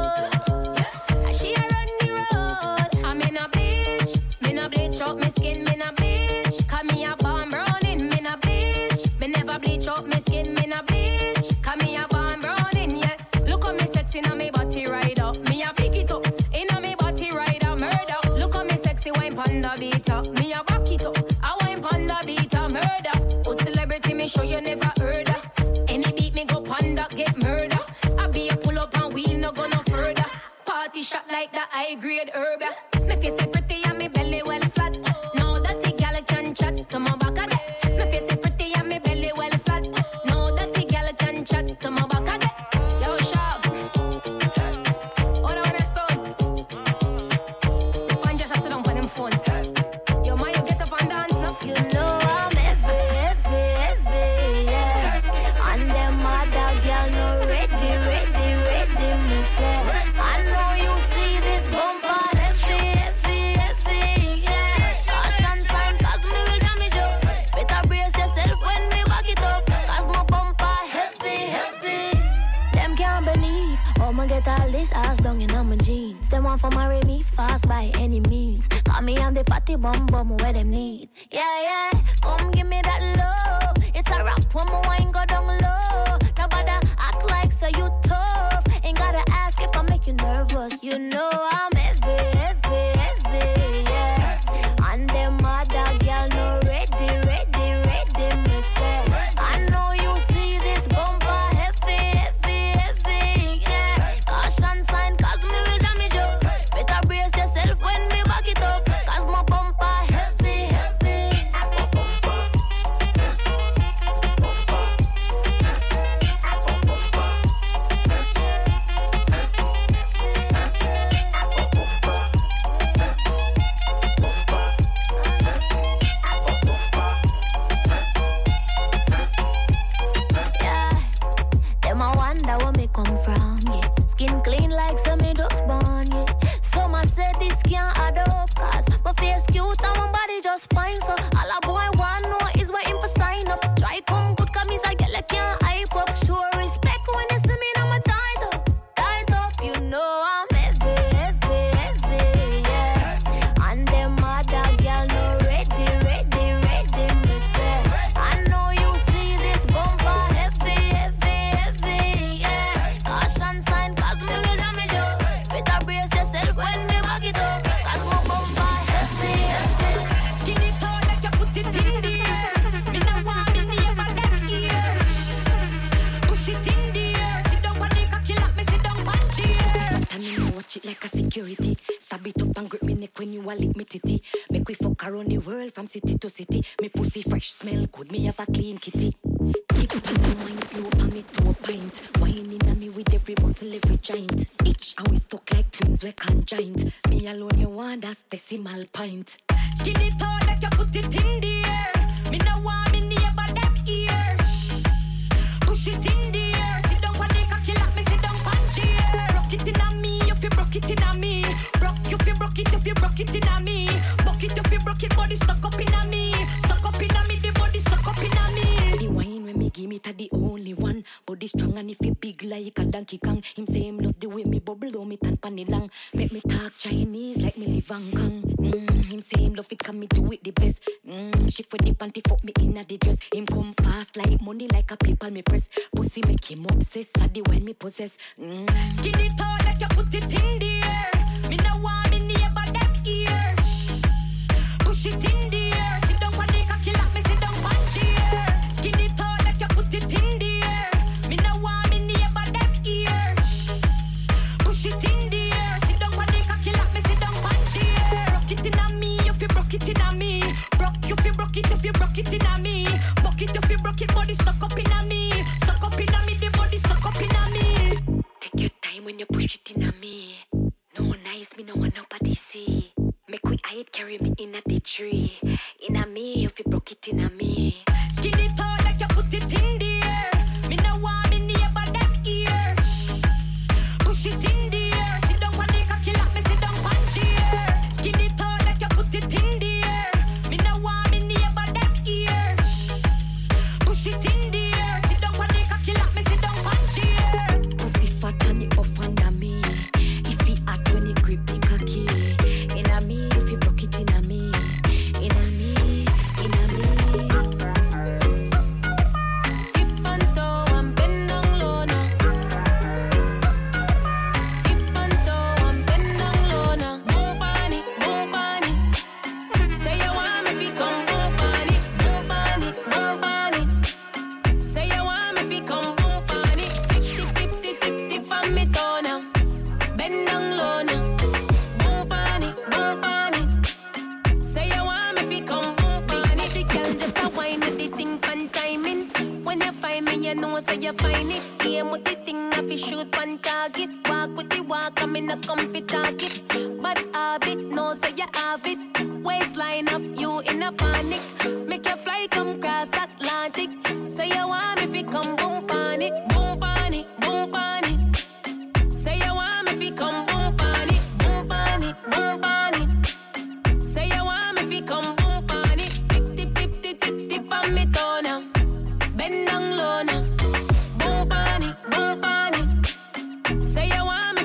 road. She a run the road. I'm in a bleach up my skin, me na bleach. Cause me a bomb browning, me na bleach. Me never bleach up my skin, me na bleach. Cause me a bomb browning, yeah. Look at me sexy na me body right up. Me a pick it up, inna me body right up, murder. Look at me sexy wine panda beater. Me a back it up, I wine panda beater, murder. Old celebrity me show you never heard of. Any beat me go panda get murder. I be a pull up and wheel no go no further. Party shot like that high grade herb. Me face is pretty and me belly well flat. No dirty gal can chat to my back again. Me face is pretty and me belly well get all this ass down in my jeans. They want for marry me fast by any means. Call me on the fatty bum where them need. Yeah, come give me that love. It's a rap when my wine go down low. Nobody act like so you tough. Ain't gotta ask if I make you nervous. You know I'm heavy, yeah. And them other girl no ready, me say. I know you see this bumper heavy, yeah. Caution sign, cause me will damage you. Better brace yourself when me back it up. Cause my bumper heavy. Come from, yeah. Skin clean like some me just born, yeah. Some I said this can't add up, cause my face cute and my body just fine. So all a boy want know is where him for sign up. Try come good, cause me say get like can't hype up. Sure respect when you see me, I'm a tied up. You know I'm heavy, yeah. And them other girl no ready, me say. I know you see this bumper heavy, yeah. Caution sign, cause me will damage you. Better brace yourself when me back it up. Cause my bumper heavy. Skin it out like you put it in the air. Me no want me never that ear. Push it in the air. Sit down on the cocky like me sit down on chair. Tell me now watch it like a security. Stab it up and grip me neck when you a lick me titty. Make we fuck around the world from city to city. Me pussy fresh, smell good, me have a clean kitty. Tip on the wine, slow on me to a pint. Whining on me with every muscle, every joint. Each and we stuck like twins, we conjoined. Me alone, you want that's decimal pint. Skin it out like you put it in the air. Me no want me neighbor that ear. Push it in the air. Sit down on the cocky like me sit down on chair. Rock it in a me, if you broke it in a me. Broke if you broke it, if you broke it in a me. Broke it if you broke it, body stuck up in a me. Stuck up in a me, the body stuck up in a me. The wine when me give me to the only one. Body strong and if you big like a Donkey Kong. Him say him love the way me bubble on me tan panny long. Make me talk Chinese like me live Hong Kong. Him say him love it, can me do it the best. Shift for the panty, fuck me in a the dress. Him come fast like money like a people me press. Pussy make him obsessed, at the wine me possess. Skin it out like you put it in the air. Me no want me neighbor that ear. Push it in the air. Sit down on the cocky like me sit down on chair. Skin it out like you put it in the air. Me no want me neighbor that ear. Push it in the air. Sit down on the cocky like me sit down on chair. Rock it in a me, if you broke it in a me. Broke if you broke it, if you broke it in a me. Broke it if you broke it, body stuck up in a me. Stuck up in a me, the body stuck up in a me. Take your time when you push it in a me. No nice, me no want nobody see. Make we hide, carry me in a the tree. In a me, if you broke it in a me. Skin it out like you put it in the air. Me no want me neighbor that ear. Push it in the air. Sit down on the cocky like me sit down on chair. Skin it out like you put it in the air. Me no want me neighbor that ear. Push it in the air. Sit down on the cocky like me sit down on chair. Pussy fat and it off under me. If he hot when it grip the cocky. In a me, if you broke it in a me. In a me, in a me. Tip on toe and bend down low now. Tip on toe and bend down low now. Move on it, move on it. Say you want me fi come move on it, move on it, move on it. Say you want me fi come move on it. Tip, tip, tip, tip, tip, tip on me toe now. Bend down low now. Move on it, move on it. Say you want me fi come move on it. The girl just a wine with the thing pan timing. When you find me, you know say you find it. Aim with the thing, I fi shoot pan target. Walk with the walk, I'm in a comfy target. But habit, no say you have it. Waistline of you in a panic. Make your fly come cross Atlantic. Say you want me fi come boom on it, boom on it, boom on it. Say you want me fi come boom on it, boom on it, boom on it. Say you want me fi come boom on it. Tip, tip, tip, tip, tip, tip on me toe now. Bend down low now. Boom on it, boom on it. Say you want me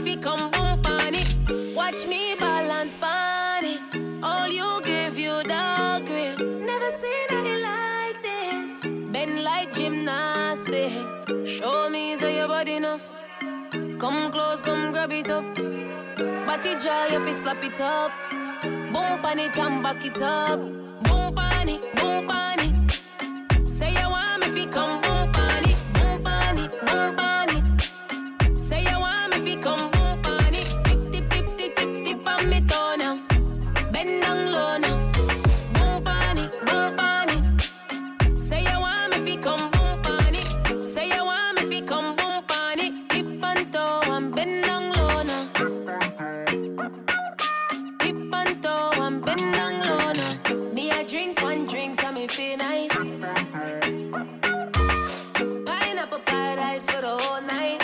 like gymnastics. Show me so your body enough. Come close, come grab it up. Body jaw, you fi slap it up. Boom pan it and back it up. Boom pan it, boom pan it. Say you want me fi come boom pan it, boom pan it, boom pan it. Say you want me fi come boom pan it. Tip tip tip tip tip tip on me toe now. Bend down low now. Boom pan it, boom pan it. Say you want me fi come boom pan it. Say you want me fi come boom pan it. Tip on toe and bend down low now. Tip on toe and bend down low now. Me I drink one drink so me feel nice. Pineapple paradise for the whole night.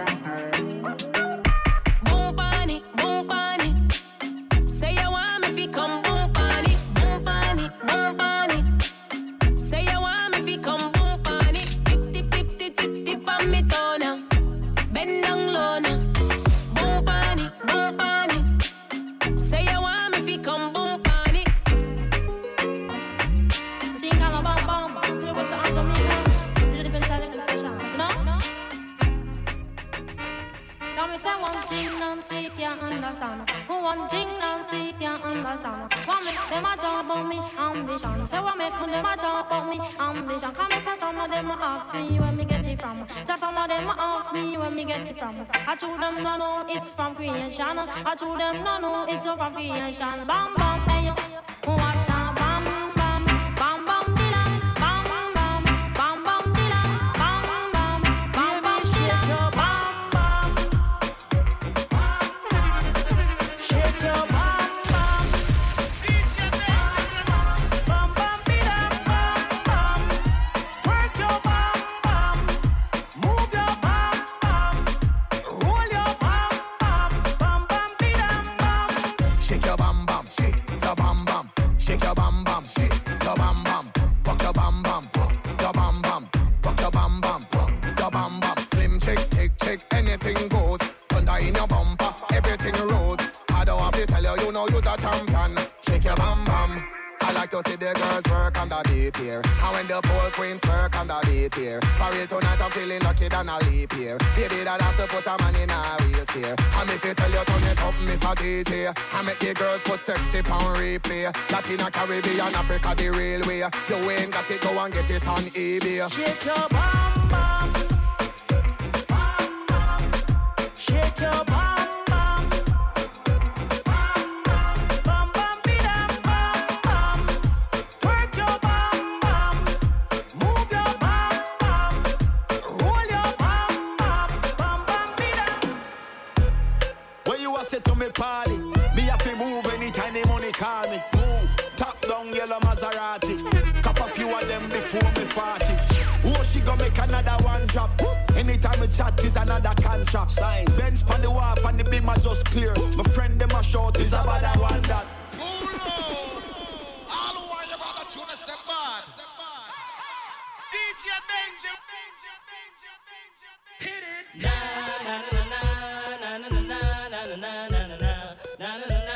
Boom pan it, boom pan it. Say you want me fi come boom pan it, boom pan it, boom pan it. Say you want me fi come boom pan it. Tip tip tip tip tip tip on me toe now. Bend down low now. Boom pan it, boom pan it. Say you want me fi come boom pan it. Sing all about bam bam. You was on the me, different style, different fashion. You know? Tell me say one thing Nancy can't understand. One thing Nancy can't understand. What make them a talk about me ambition? Say what make them a talk about me ambition? Come and say some of them ask me where me get it from. Say some of them ask me where me get it from. I told them no no it's from creation. I told them no no it's from creation. Bam bam hey yo, what a bam bam bam bam dilam bam bam bam bam dilam bam bam bam bam shake your bam bam shake your bam bam bam bam dilam bam bam work your bam bam move your bam bam roll your bam bam bam bam dilam bam. Shake your bam bam, shake your bam bam, shake your bam bam, shake your bam bam, walk your bam bam, your bam bam, walk your bam bam, your bam bam. Slim chick, chick, anything goes. Thunder in your bumper, everything rose. I don't have to tell you, you know you're a champion. Shake your bam bam. I like to see the girls work on the beat here. And when the pole queens work on the beat here. For real tonight I'm feeling lucky than a leap here. Baby that has to put a man in a wheelchair. And if you tell you turn it up, Miss a DJ. I make the girls put sexy pound replay. Latina, Caribbean, Africa the real way. You ain't got it, go and get it on eBay. Shake your bam bam, bam bam. Shake your bam bam, bam bam, bam bam bidam bam bam. Work your bam bam, move your bam bam, roll your bam bam, bam bam bidam. When you a say to me party, me have to move anytime the money call me. Move, top down yellow Maserati. Cup a few of them before me 40. Oh, she gon' make another one drop. Anytime we chat is another contract. Sign. Benz pan the wharf and the beam are just clear. My friend them a short is about that one that. All who want you about the tune is step bad. DJ Benji. Hit it. Na na na na na na na na na na na na na na na.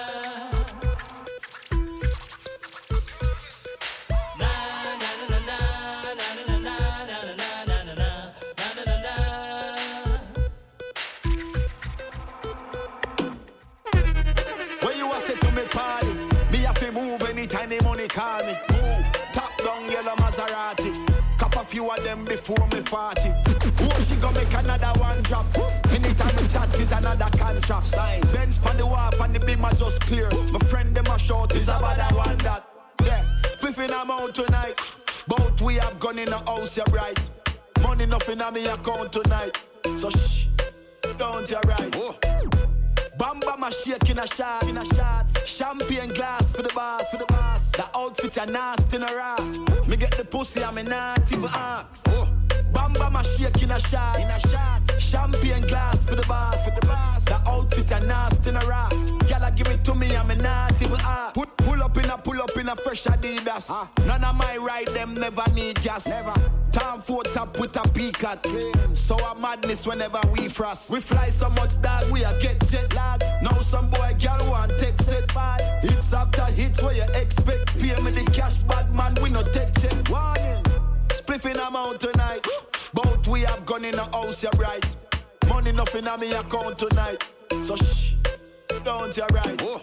Party. Me have to move anytime the money call me. Move, top down yellow Maserati. Cup a few of them before me 40. Oh, she gon' make another one drop. Anytime we chat is another contract. Sign. Benz pan the wharf and the beam are just clear. My friend them a short is about that one that. Yeah, spliffing them out tonight. Both we have gone in the house, you're right. Money nothing on me account tonight. So shh, don't you right. Oh. Bam bam a shake in a shot, champagne glass for the boss, The outfit a nasty in a ass. Me get the pussy and me not even ask. Bam bam a shake in a shot, champagne glass for the boss, The outfit a nasty in a ass. Gyal give it to me and me not even ask. Pull up in a fresh Adidas. None of my ride them never need gas. Never. Time for top with a peacock. So a madness whenever we frost. We fly so much dog we a get jet lag. Now some boy girl want text it. Hits after hits where you expect. Pay me the cash bad man we no take check. Warning. spliffing amount tonight. Both we have gone in the house, you're right. Money nothing on me account tonight. So shh, don't you right. Whoa.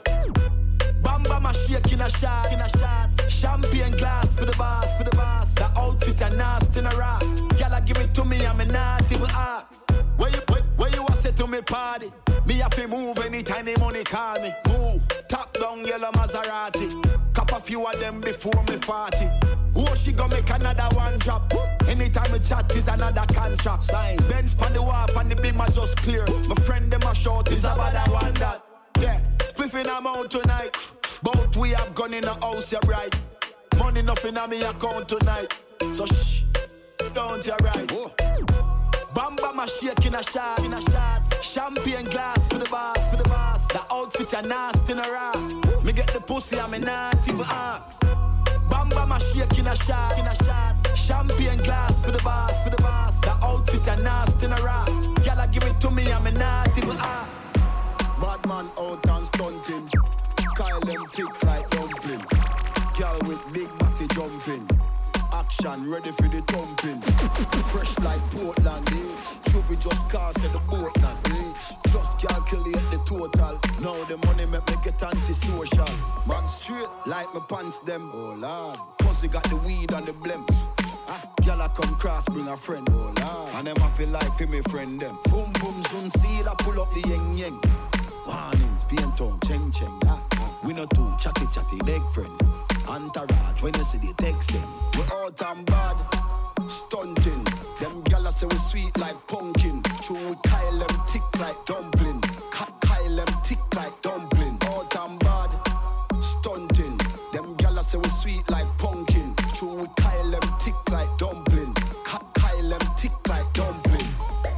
Bamba my shake in a shot. Champagne glass for the boss. The outfit are nasty in a ras. Gala give it to me, I'm not even ask. Where you was say to me party? Me have to move anytime the money call me. Move, top down yellow Maserati. Cop a few of them before me 40. Oh, she gon' make another one drop. Anytime we chat is another contract. Sign. Benz pan the wharf and the beam are just clear. My friend them a short is about that one that. Yeah, spliffing amount tonight. Both we have gone in the house, you're right. Money nothing on me account tonight. So shh, don't you right. Whoa. Bamba my shake in a shot. Champagne glass for the boss. The outfit are nasty in a ras. Me get the pussy and me not even ask. Bamba my shake in a shot. Champagne glass for the boss. The outfit are nasty in a ras. Gala give it to me and me not even ask. Bad man out and stunting. Kyle them tick like dumpling. Girl with big body jumping. Action ready for the thumping. Fresh like Portland, eh? Trophy just cast at the boat now, eh? Just calculate the total. Now the money make me get antisocial. Man straight like my pants them. Oh lord, pussy got the weed and the blimp. Girl I come cross bring a friend. Oh lord, and them I feel like for me friend them. Boom boom zoom seal I pull up the yeng yeng. Warnings, paint on, cheng cheng. We no too chatty big friend. Entourage, when you see the text them. We out and bad, stunting. Them gala say we sweet like pumpkin. True, we Kyle them tick like dumpling. Kyle them tick like dumpling. Out and bad, stunting. Them gala say we sweet like pumpkin. True, we Kyle them tick like dumpling. Kyle them tick like dumpling.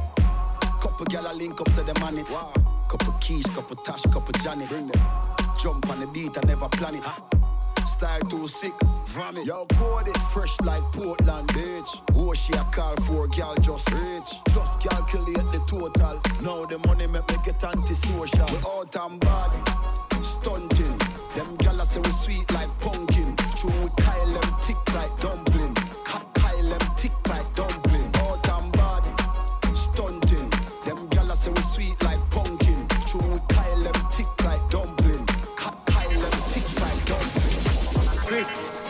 Couple gala link up, say them on it. Wow. Couple keys, couple Tash, couple Janet. Bring them. Jump on the beat, I never plan it. Style too sick, vomit. Yo, code it fresh like Portland, bitch. Oh, she a call for girl just rich. Just calculate the total. Now the money make me get antisocial. We out and bad, stunting. Them gala say we sweet like pumpkin. True, we Kyle them tick like dumpling. Kyle them tick like dumpling. Out and bad, stunting. Them gala say we sweet like pumpkin. True, we Kyle them tick like dumpling. Kyle them tick like dumpling. Brick,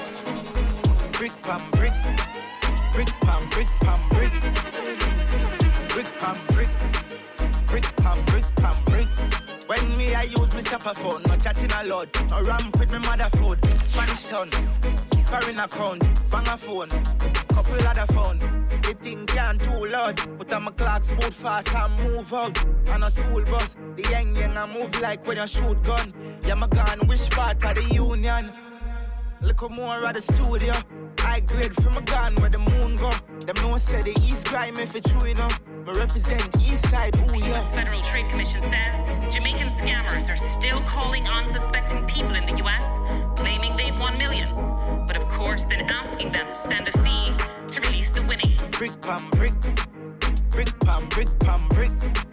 brick pam brick, brick pam brick pam brick, brick pam brick, brick pam brick pam brick. When me I use me chopper phone, no chatting a lot, no ramp with me mother food, Spanish town, foreign account, bang a phone, couple other phone. The thing can't too loud, but I'm a clocks boot fast and move out. On a school bus, the young I move like when you shoot gun. Yeah, my gun, which part of the union? Look more at the studio. I grade from a gun where the moon go. Them no say the East crime if it's true enough. Me represent East Side, ooh yeah. U.S. Federal Trade Commission says Jamaican scammers are still calling unsuspecting people in the U.S., claiming they've won millions. But of course, then asking them to send a fee to release the winnings. Brick pam brick, brick pam brick pam brick,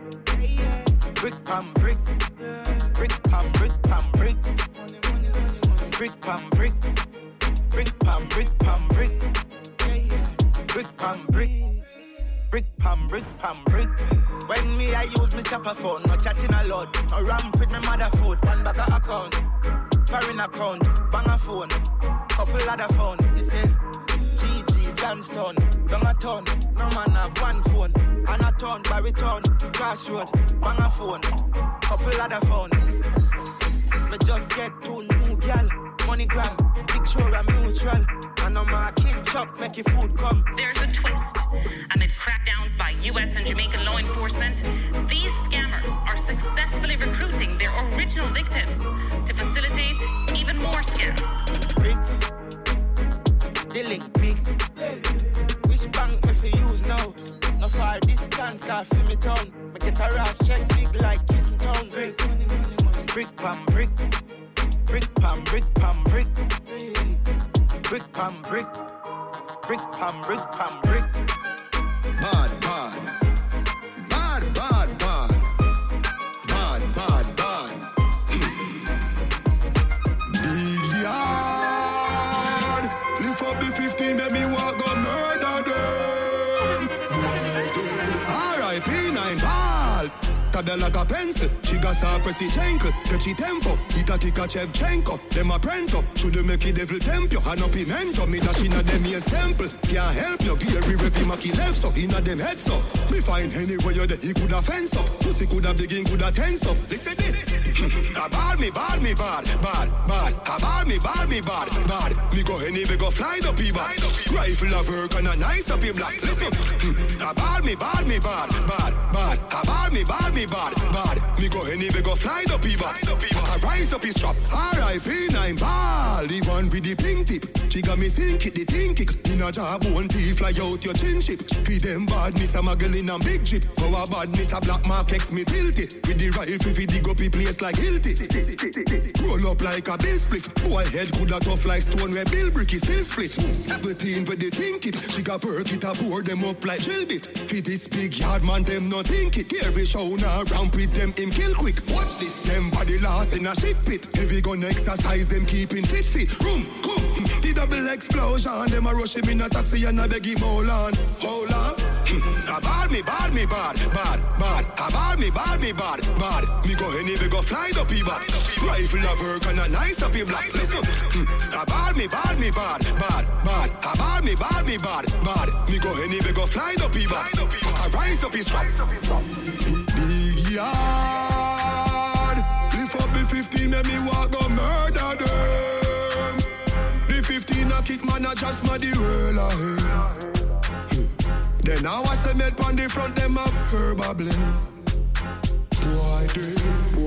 brick pam brick, brick pam brick pam brick. Brick pam brick, brick pam brick pam brick, brick pam brick, brick pam brick pam brick. When me I use me chopper phone, no chatting a lot, no ramp with me mother food, one bag of account, foreign account, bang a phone, couple other phone. You say, GG Johnston, long a ton, no man have one phone, and a ton, baritone, crossroad, bang a phone, couple other phone. Me just get two new gal. MoneyGram, picture I'm neutral. And on my kid chop, make your food come. There's a twist. Amid crackdowns by U.S. and Jamaican law enforcement, these scammers are successfully recruiting their original victims to facilitate even more scams. Bricks, the link big. Which bank me for use now? No far distance, car for me town. Me get a rash check big like Kissing Town. Bricks, brick pam brick. Brick pam brick pam brick, brick pam brick, brick pam brick pam brick. Bad, bad, bad, bad, bad, bad, bad, bad. Big yard, lift up the 15, make me walk on murder. stab her like a pencil. She got her pressy chankle, catchy tempo. Hit a kick a Chevchenko. Them a prento, should make it devil temp you. And up pimento, me dash inna them ears temple. Can't help you, Gary Revi Maki left so inna them heads so. Me find anywhere you there, he coulda fence up. Pussy coulda begin, coulda tense up. Listen this. Bad me, bad me, bad. Bad me, bad. Me go anywhere, go fly the people. Rifle of work and a nice up your black. Listen. Bad me, bad. Me go anywhere, go fly the people. I rise up his trap. R.I.P. 9 ball. The one with the pink tip. She got me sink it, the thing kick. In a job, one teeth fly out your chin chip. Feed them badness, a muggle in a big jeep. Our badness, a black mark X me tilt it. With the rifle, we dig up a place like Hilti. Roll up like a bill split. Boy head coulda tough like stone where Bill Brick is still split. 17 with the think it. She got perk it, a board them up like drill bit. Feed this big yard man, them no think it. Every show now ramp with them, him kill quick. Watch this, them body lost in a shit pit. Heavy gun exercise, them keeping fit. Room, come. The double explosion, them a rush him in a taxi and I beg him hold on. Bad me. Bad me, bad. Me go anywhere, go fly the people. Rifle of work and a nice up your black. Listen. Bad me, bad. Me go anywhere, go fly the people. I rise up his trap. Big yard. Lift up the 15, let me walk go murder them. The 15 a kick man, a just my the world ahead. Then I watch them head on the front, them up herb blame. Why did?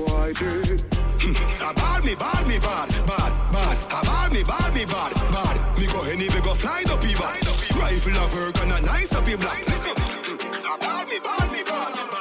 Bad me, bad. Me go anywhere, go fly the people. Rifle of work and a nice up your black. Listen. Bad me, bad. Me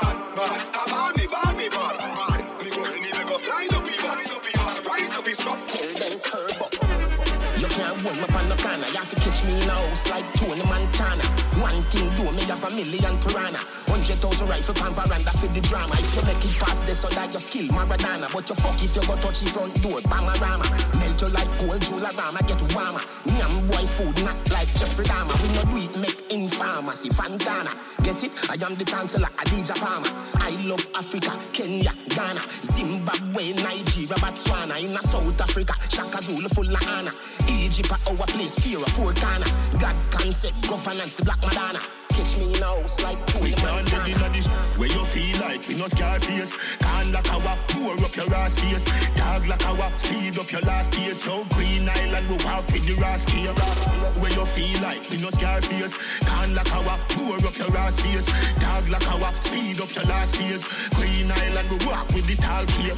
go anywhere, go fly the people. Rise up his truck. Then curb up. You can't hold me on the corner. You have to catch me in a house like Tony Montana. One thing do me have 1 million piranha. 100,000 rifle pan veranda for the drama. If you make it past this so that you skill Maradona. But you fuck if you go touch the front door, Bamarama. Melt you like cold Jularama, get warmer. Nyam boy food not like Jeffrey Dahmer. When you do it, make in pharmacy, Fantana. Get it? I am the chancellor, Adidja Palmer. I love Africa, Kenya, Ghana, Zimbabwe, Nigeria, Botswana. In South Africa, Shaka Zulu full of honor. Egypt at our place, fear of 4 corner. God concept, governance, the Black Madonna. Catch me in a house like Tony Montana. Where you feel like we no scar face. Can't like our pour up your ass face. Dog like our speed up your last days. So Green Island we walk with the rascal. Where you feel like we no scar face. Can't like our pour up your ass face. Dog like our speed up your last days. Green Island we walk with the tall clear.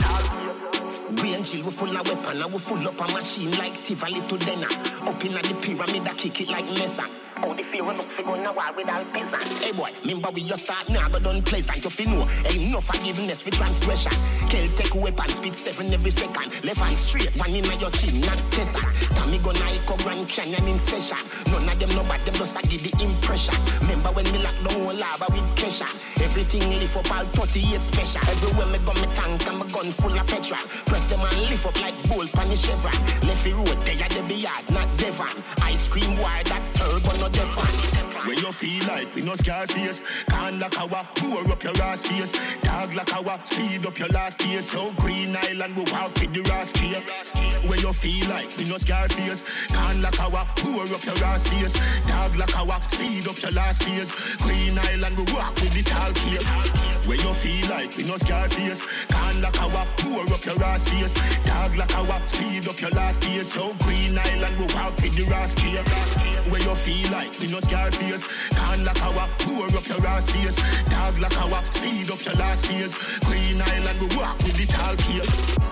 Green Jill, we full of weapon, and we full up a machine like Tivoli to Denner. Up in the pyramid, I kick it like Mesa. Oh, the fear enough to go now with all peasant. Hey boy, remember we just start now, but don't pleasant. You know, ain't no forgiveness for transgression. Kel take weapon, speed 7 every second. Left hand straight, one in your chin, not Tessa. Tommy gonna echo Grand Canyon in session. None of them know but them just give the impression. Remember when me lock down whole lava with pressure. Everything lift up all 38 special. Everywhere me go me tank and my gun full of petrol. Press them and lift up like bolt pan the chevron. Left the road, they are the yard, not Devon. Ice cream wire that turbo, not where you feel like we no scar face. Can't like our pour up your ass face. Dog like our speed up your last days. So Green Island we walk with the rascal. Where you feel like we no scar face. Can't like our pour up your ass face. Dog like our speed up your last days. Green Island we walk with the tall clear. Where you feel like we no scar face. Can't like our pour up your ass face. Dog like our speed up your last days. So Green Island we walk with the rascal. Where you feel like we no scar face. Can't like our pour up your ass face. Dog like our speed up your last days. Green Island we walk with the tall clear.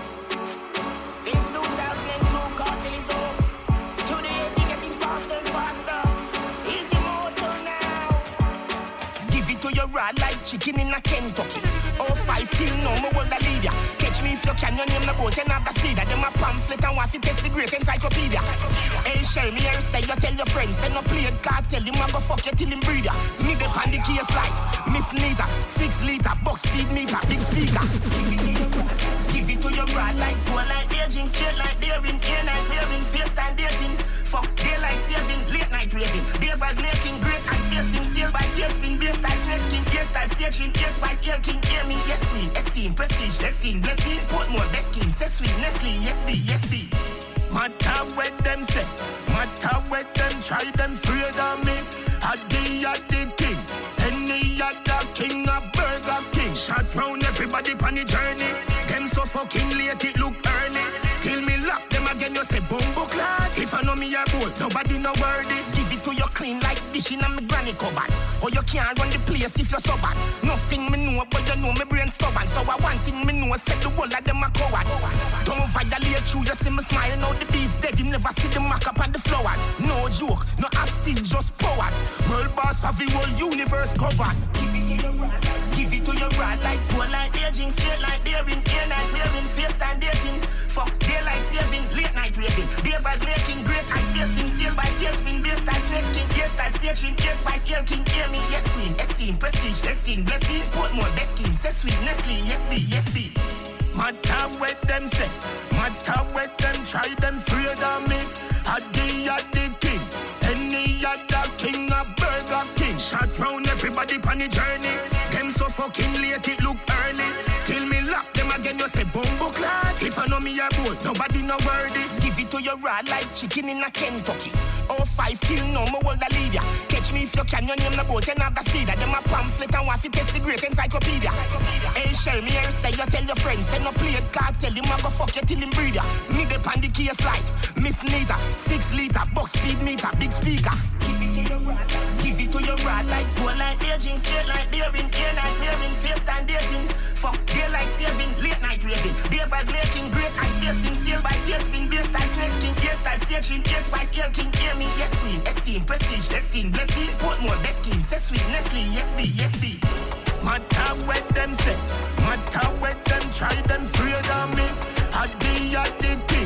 Since 2002 cartel is off. Today is getting faster and faster. Easy motor now. Give it to your rod like chicken in a Kentucky. Oh, 5 till no more will I lead ya. Catch me if you can, your name the boat and have the speed. Them a pamphlet and want to test the great encyclopedia. Hey, share me and say you tell your friends. Send no play cartel, him a go fuck you till him breed ya. Me the on the case like Miss Nita, 6 liter, box speed meter, big speaker. Give it to your rod like gold like aging, straight like daring, air night wearing, face time dating. Fuck daylight saving, late night raving. Beavers making great ice wasting, sail by tailspin, bass types snake skin, hairstyle, staging, ear spice, ear king, hear me, yes queen, esteem, prestige, destined, blessing, put more best scheme, say sweet, Nestle, yes be, yes be. Matter what them say, matter what them try, them afraid of me. The king, any other king, a Burger King. Shot round everybody on the journey. Them so fucking late, it look early. Till me lock them again, you say bumbo clad. If I know me a boat, nobody no worthy. Give it to you clean like dish in a me granny cupboard. Or you can't run the place if you're so bad. Nothing me know, but you know me brain stubborn. So I want thing me know, set the whole of them a coward. Don't violate you, you see me smile. Now the beast dead, him never see the mark up on the flowers. No joke, no asking, just powers. World boss of the whole universe covered. Give it to your rod like poor like aging, straight like daring, air night wearing, face time dating. Fuck daylight saving, late night raving. Beavers making great ice wasting, sail by tailspin, beer style snake skin, hairstyle staging, ear spice, ear king, hear me, yes queen, esteem, prestige, destined, blessing, put more best scheme, say sweet, Nestle, yes be, yes be. Matter what them say, matter what them try, them afraid of me. The king, any other king, a Burger King. Shot round everybody on the journey. Them so fucking late, it look early. Till me lock them again, you say bumbo clad. If I know me a boat, nobody no worthy. Give it to your raw like chicken in a Kentucky. 05 till no more hold a leader. Catch me if you can, your name the boat, and have the speeder. Them a pamphlet and want to test the great encyclopedia. Hey, share me and say you tell your friends. Say no play it, can't tell him I go fuck you till him breeder. Me dep on the case like Miss Nita, 6 liter, box speed meter, big speaker. Give it to your rod like poor like aging, straight like daring, air night wearing, face time dating. Fuck daylight saving, late night raving. Beavers making great ice wasting, sail by tailspin, beer style snake skin, hairstyle staging, ear spice, ear king, hear me, yes queen, esteem, prestige, destined, blessing, put more best scheme, say sweet, Nestle, yes be, yes be. Matter what them say, matter what them try, them afraid of me. The king,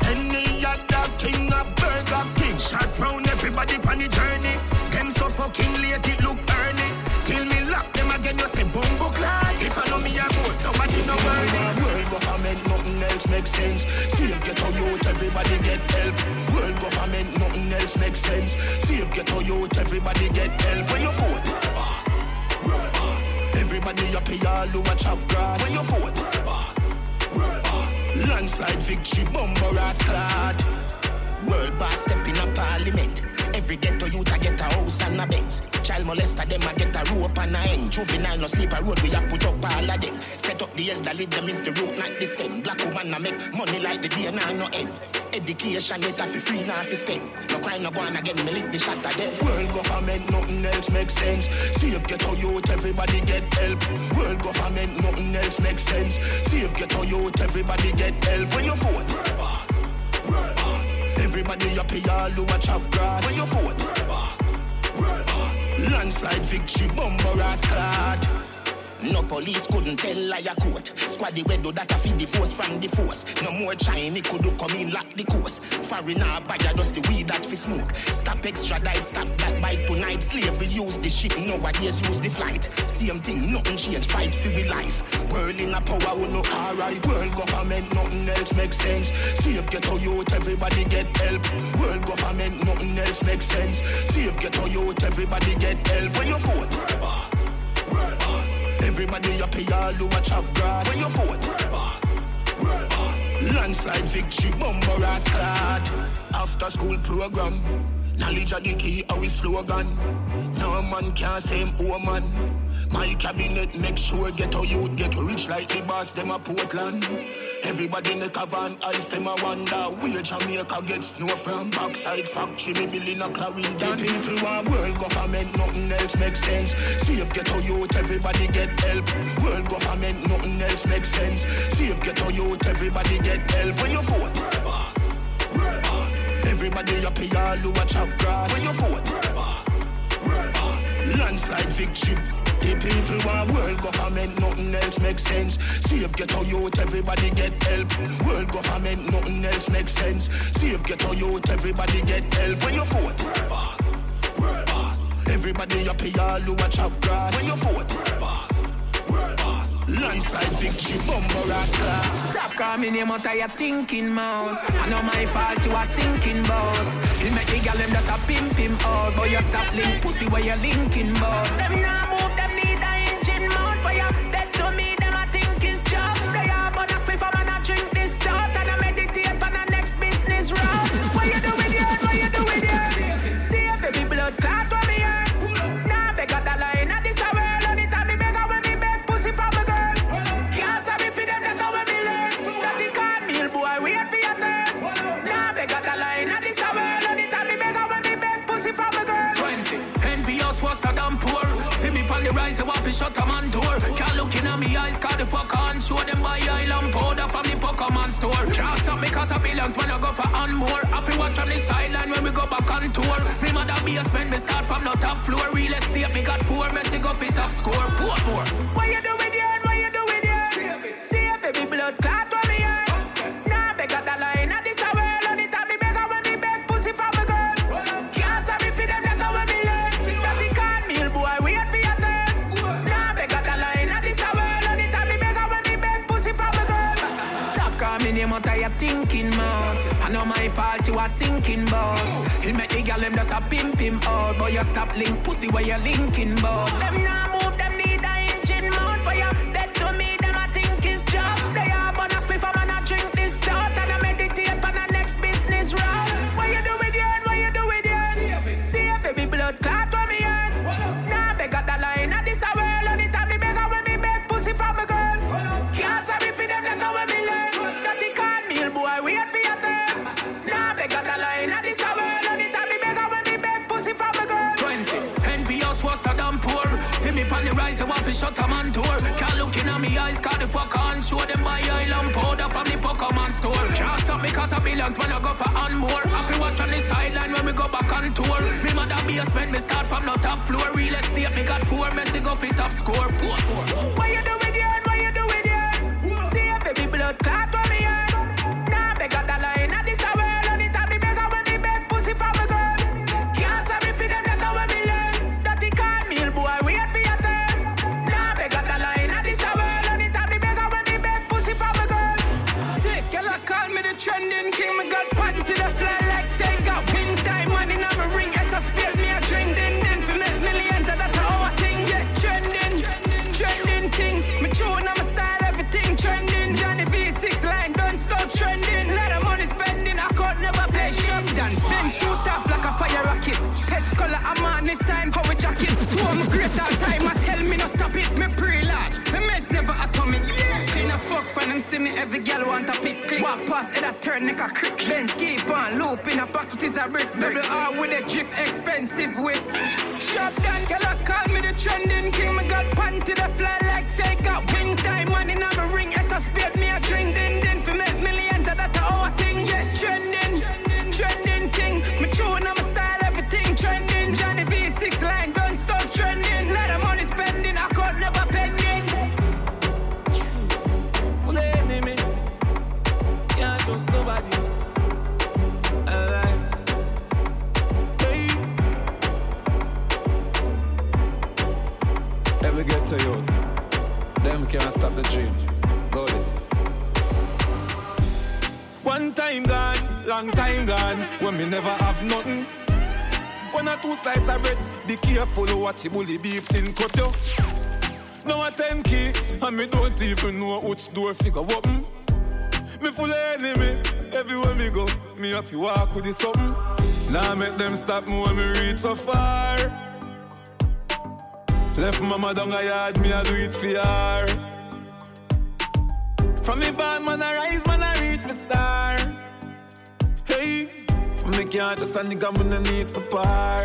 any other king, a Burger King. Shot round everybody on the journey. Them so fucking late, it look early. Till me lock them again, you say bumbo clad. If I know me a boat, nobody no worthy. World government, nothing else makes sense. Save get a youth, everybody get help. World government, nothing else makes sense. Save get a youth, everybody get help. When you vote, world boss, world boss. Everybody up here, all over chop grass. When you vote, world boss, world boss. Landslide victory, bumbo rascal. World boss step in a parliament. Every ghetto youth a get a house and a Benz. Child molester them a get a rope and a end. Juvenile no sleep a road, we a put up all of them. Set up the elderly, them is the root, not the stem. Black woman a make money like the day now no end. Education yet a fi free now fi spend. No crime no go on again, me lick the shot of them. World government, nothing else makes sense. Save ghetto youth, everybody get help. World government, nothing else makes sense. Save ghetto youth, everybody get help. When you vote, world boss, world boss. Everybody up here, all over chop grass. When you vote, world boss, world boss. Landslide victory, bumbo rascal. No police couldn't tell liar court. Squaddy we do that a feed the force from the force. No more Chinese could do come in lock the course. Foreigner buyer just the weed that fi smoke. Stop extradite, stop black bite tonight. Slavery use the ship, nowadays use the flight. Same thing, nothing change, fight for we life. World in a power, we no alright. World government, nothing else makes sense. Save ghetto youth, everybody get help. World government, nothing else makes sense. Save ghetto youth, everybody get help. When you vote, world boss, world boss. Everybody up here, all over chop grass. When you vote, world boss, world boss. Landslide victory, bumbo rascal. After school program, knowledge of the key, our slogan. No man can say him woman. My cabinet make sure get a youth get rich like the boss, them a Portland. Everybody make a van ice, them a wonder where Jamaica get snow from. Backside factory, me building a Clarendon. The people want world government, nothing else makes sense. Save get a youth, everybody get help. World government, nothing else makes sense. Save get a youth, everybody get help. When you vote, world boss, world boss. Everybody up here, all over chop grass. When you vote, world boss, world boss. Landslide victory. The people want world government, nothing else makes sense. Save ghetto youth, everybody get help. World government, nothing else makes sense. Save ghetto youth, everybody get help. When you vote, world boss, world boss. Everybody up here, all over chop grass. When you vote, world boss, world boss. Landslide victory, bumbo rascal. Stop calling name out of your thinking mouth. I know my fault, you are sinking boat. You make the girl them just a pimp him out. But you stop link pussy where you linking bout. Them now move them worse than poor. See me on the rise, I want to shut a man door. Can't look in me eyes, cause the fuck on. Show them by island powder from the Pokemon store. Can't stop me cause of billions, man, I go for and more. Happy watch on the sideline when we go back on tour. Me mother basement, me start from the top floor. Real estate, me got 4, Messi go fit top score. Portmore. What you do with you? What you do with you? See if it be blood clot for me, yeah. Nah, me got a line at this away. On the top, me beg when me beg pussy from a girl. Can't sorry for them, that's how we learn. That the cornmeal boy, wait for your turn. Nah, me got a line at this away. On the top, me beg when me beg pussy from a girl. Stop calling him out of your thinking mouth. I know my fault, you are sinking boat. He make the girl them just a pimp him out. But you stop link pussy where you linking boat. Them now move, them need a engine mount. But you dead to me, them I think is job. They are but I split for man, I drink this stout. And I meditate on the next business route. What you do with you and what you do with you? See if it be blood clot for me and now they got the line at this away. On the time me beg when me beg pussy from a girl. Can't sorry for them, that's how we learn. That the cornmeal boy, wait for your turn. Now they got the line at this away. On the time me beg when me beg pussy from a girl. 20, envious worse than poor. See me on the rise, I want to shut a man door. Can't look in me eyes, cause the fuck on. Show them by island powder from the Pokemon store. Can't stop me cause of billions, man, I go for and more. Happy watch on the sideline when we go back on tour. Me mother basement, me start from the top floor. Real estate, me got 4, Messi go fit top score. What you do with you and what you do with you? See if it be blood clot for me and now they got the line at this away. On the top, me beg when me beg pussy from a girl. Can't sorry for them, that's how we learn. That the cornmeal boy, wait for your turn. Now they got the line at this away. On the top, me beg when me beg pussy from a girl. Sick, girl, I call me the trending king. Me got pants to the fly like say got win time money in my ring. As I spilled me a drink, then for make millions of that our thing. Yeah, trending king. Me tune on my style, everything trending. Johnny V6 line, don't stop trending. Lot of money spending, I could never pay. Shop done, then shoot up like a fire rocket. Pets color, I'm on this sign, how we jacket. Two of me great all time, I tell me no stop it. Me pre-large, me meds never atomic. Yeah, clean a fuck for them, see me every girl want a pick. Click. Walk past it, I turn neck a crick. Benz keep on, loop in a pocket is a brick. Double R with a drift, expensive whip. Shop done, girl, I call me the trending king. Me got pants to the fly like say got win time money in my ring. As I spilled me a drink, then for make millions of that our thing. Yeah, trending king. Me tune on my style, everything trending. Johnny V6 line, don't stop trending. Lot of money spending, I could never pending. Full enemy, can't trust nobody. Alive. Hey. Ever get to you? Them can't stop the dream. Go ahead. One time gone, long time gone, when me never have nothing. One or two slices of bread, be careful what you bully beef in cut you. Now a 10 key, and me don't even know which door figure open. Me full enemy, everywhere me go, me have to walk with the something. Now make them stop me when me reach so far. Left mama down a yard, me I do it for her. From me band, man I rise, man I reach me star. Hey, from me can't just a nigga, man I need for par.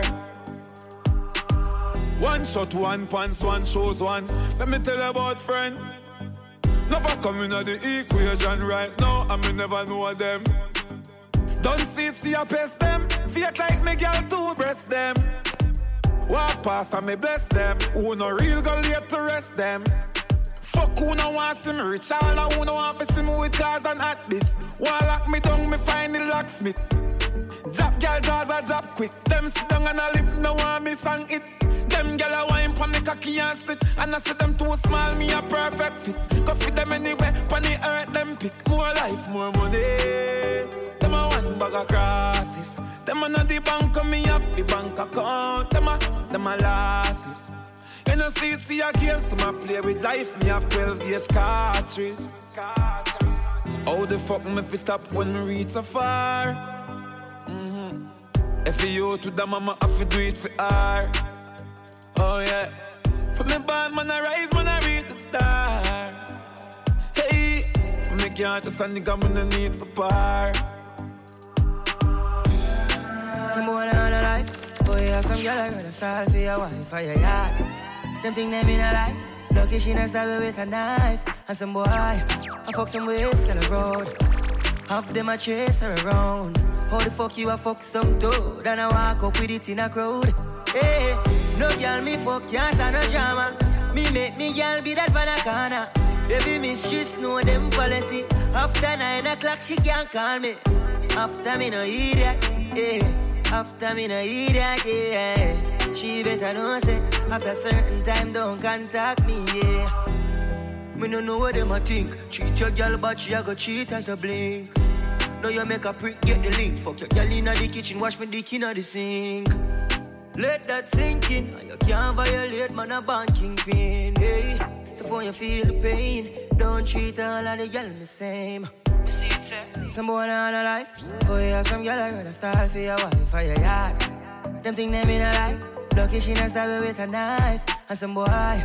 One shot, one pants, one shows one. Let me tell you about friend. Never come in the equation right now, and me never know them. Don't see I pest them. Fake like me girl to breast them. Walk past and me bless them. Who no real go late to rest them. Fuck who no want see me rich. All who no want to see me with cars and hot bitch. One lock me down, me find the locksmith. Drop girl jaws a drop quick. Them sit down and a lip, no want me sang it. Them gyal a wine pon the cocky and split. And I see them too small, me a perfect fit. Go fit them anywhere, pon the earth them pick. More life, more money. Them a one bag of crosses. Them a not the bank, me up the bank account. Them a losses. You know see a game, so I play with life. Me have 12 gauge cartridge. How the fuck me fit up when me reach so far? If you to the mama, I fi do it for her. Oh yeah. For me band, man I rise, man I reach the star. Hey, for me can't just a nigga, man I need for par. Some more than a life, boy, I some girl I gotta style for your wife or your yard. Them think they mean a lie. Lucky she not stab with a knife. And some boy, I fuck some ways, girl a road. Half them a chase her around. How the fuck you a fuck some toad? And I walk up with it in a crowd. Hey, no girl me fuck, can't stand no drama. Me make me girl be that banana. Baby mistress know them policy. After 9 o'clock she can't call me. After me no idiot, yeah. After me no idiot, yeah. She better know say after certain time don't contact me, yeah. Me no know what them a think. Treat your girl but she a go cheat as a blink. Now you make a prick, get the link. Fuck your girl inna the kitchen, wash me dick inna the sink. Let that sink in. You can't violate, man, a banking pin. Hey. So when you feel the pain, don't treat all of the girl the same. You see it, sir? Some boy on a life. Oh, you have some girl I rather style for your wife or your yard. Them think they mean a lie. Lucky she not stab with a knife. And some boy,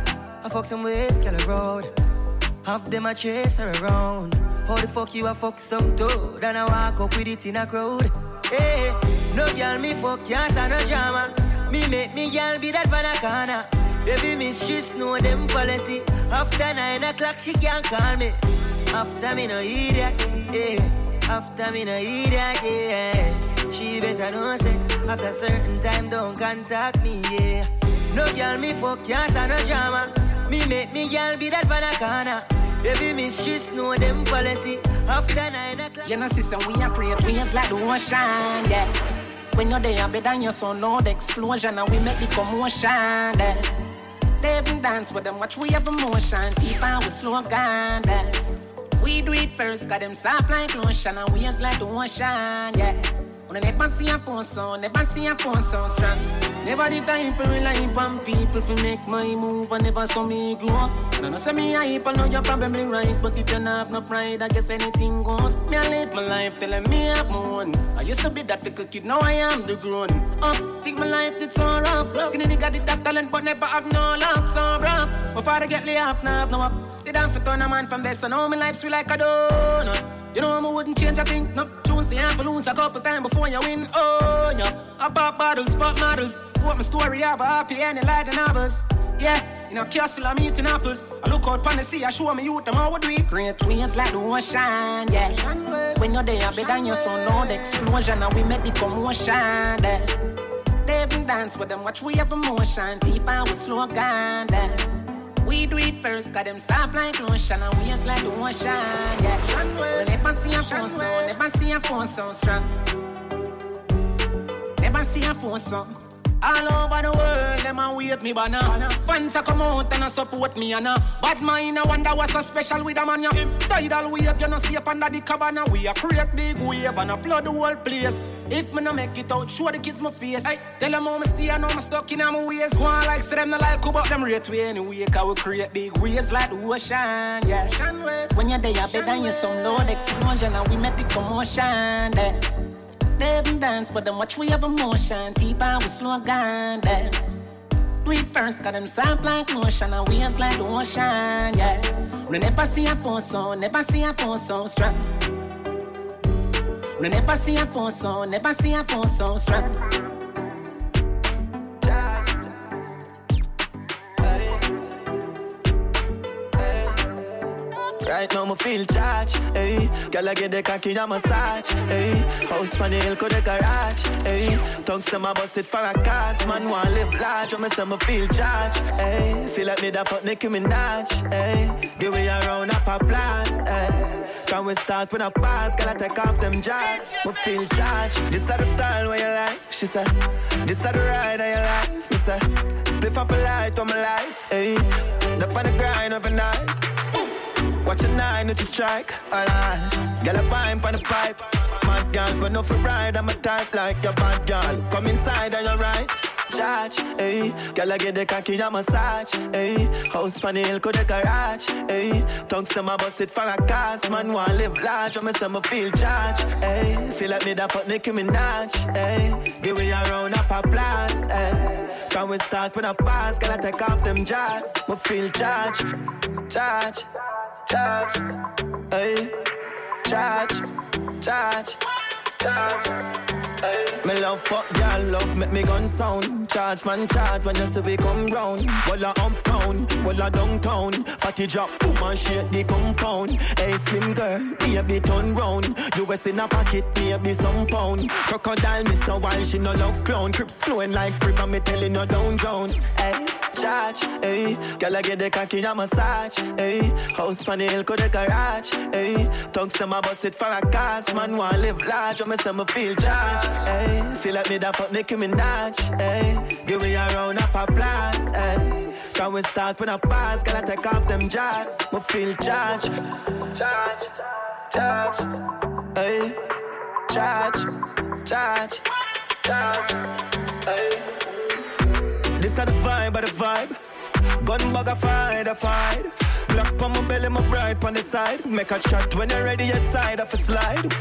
I fuck some ways, girl a road. Half them a chase her around. How the fuck you a fuck some toad? And I walk up with it in a crowd. Hey, no girl me fuck, can't stand no drama. Me make me girl be that banana. Baby mistress know them policy. After 9 o'clock she can't call me. After me no idiot, yeah. After me no idiot, yeah. She better know say after certain time don't contact me, yeah. No girl me fuck, can't stand no drama. Me make me girl be that banana. Baby mistress know them policy. After 9 o'clock. You know sister, we are create waves like the ocean, yeah. When you're there, better than your son, Lord explosion, and we make the commotion, yeah. They even dance with them, watch we have emotion, deep and we slow down, yeah. We do it first, got them soft like lotion, and waves like the ocean, yeah. When I never see a phone sound, never see a phone sound strong. Never the time for rely on people to make my move, and never saw me grow up. And I know say me hype, I know you're probably right, but if you don't have no pride, I guess anything goes. Me I live my life telling me I'm one. I used to be that little kid, now I am the grown up. Think my life did so rough. Skinny nigga did that talent, but never have no luck, so rough. My father get laid off, now have no up. They don't fit on a man from best, so now my life's sweet like a donut. You know I wouldn't change a thing. No, choose the amp lose a couple times before you win. Oh, yeah. I pop bottles, pop models. What my story have a happy ending like the novels. Yeah, in a castle I'm eating apples. I look out pon the sea, I show me youth them how we do it. Great waves like the ocean, yeah. When you're there, better than your son, Lord explosion, and we make the commotion, yeah. They even dance with them, watch we have emotion, deep and we slow down, yeah. We do it first, got them soft like lotion and waves like the ocean, yeah. We never see a phone sound, never see a phone sound strong. Never see a phone sound. All over the world, them a wave me banner. Fans a come out and a support me and bad mind I wonder what's so special with a man, yeah. Tidal wave, you no see up under the cabana. We a create big wave and a flood the whole place. If me no make it out, show the kids my face. Ay, tell them how me stay and how me stuck in my ways. Go on like say them no like about them rate way anyway. Cause we create big waves like the ocean, yeah. When you're there, better than you some Lord explosion and we make the commotion, yeah. They even dance with them, watch we have emotion, deep and we slow down, yeah. Do it first, got them soft like lotion and waves like the ocean, yeah. We never see a phone sound, never see a phone sound strong. We never see a phone sound, never see a phone sound strong. Right now, me feel charged, hey. Girl, I get the cocky and massage, hey. House on the hill, go the garage, hey. Tongues to my bust it for a cause. Man, want live large, when me say me feel charged, hey. Feel like me that fuck Nicki Minaj, hey. Give me a round of applause, hey. Can we start with a pass? Girl, I take off them jacks, me feel charged. This is the style where you like, she said. This is the ride that you like, me say. Split off a light on my light, hey. Up on the grind overnight. Watch a 9 to strike, alright. Girl, a pimp on the pipe. Mad girl, but no for ride. I'm a type like your bad girl. Come inside and you're right. Charge, hey. Girl, I get the cocky and massage, hey. House on the hill, go the garage, hey. Tongues to my bust it for a cause. Man, want live large, when me say me feel charged, hey. Feel like me that fuck Nicki Minaj, hey. Give me a round of applause, hey. Can we start with a pass? Girl, I take off them jars. Me feel charged, charge. Charge, hey, charge, charge, charge. Me love fuck girl, love make me gun sound. Charge man charge when you see we come round. Walla uptown, walla downtown. Fatty drop, boom and shake the compound. Hey slim girl, baby turn round. US in a pocket, maybe some pound. Crocodile miss a while, she no love clown. Crips flowing like river, me telling her don't drown. Hey, charge, hey. Girl I get the cocky a massage, hey. House pan the hill, go the garage, hey. Tongues to my bus it for a cast. Man want live large, I me say me feel charged, hey. Feel like me da fuck Nicki Minaj, hey. Give me a round of applause, hey. Can we start with a pass? Gotta take off them jars. Me feel charged, charge, charge, hey. Charge, charge, charge, hey. This is the vibe. Gun bag a fight. Black on my belly, my bright on the side. Make a shot when you're ready outside of a slide.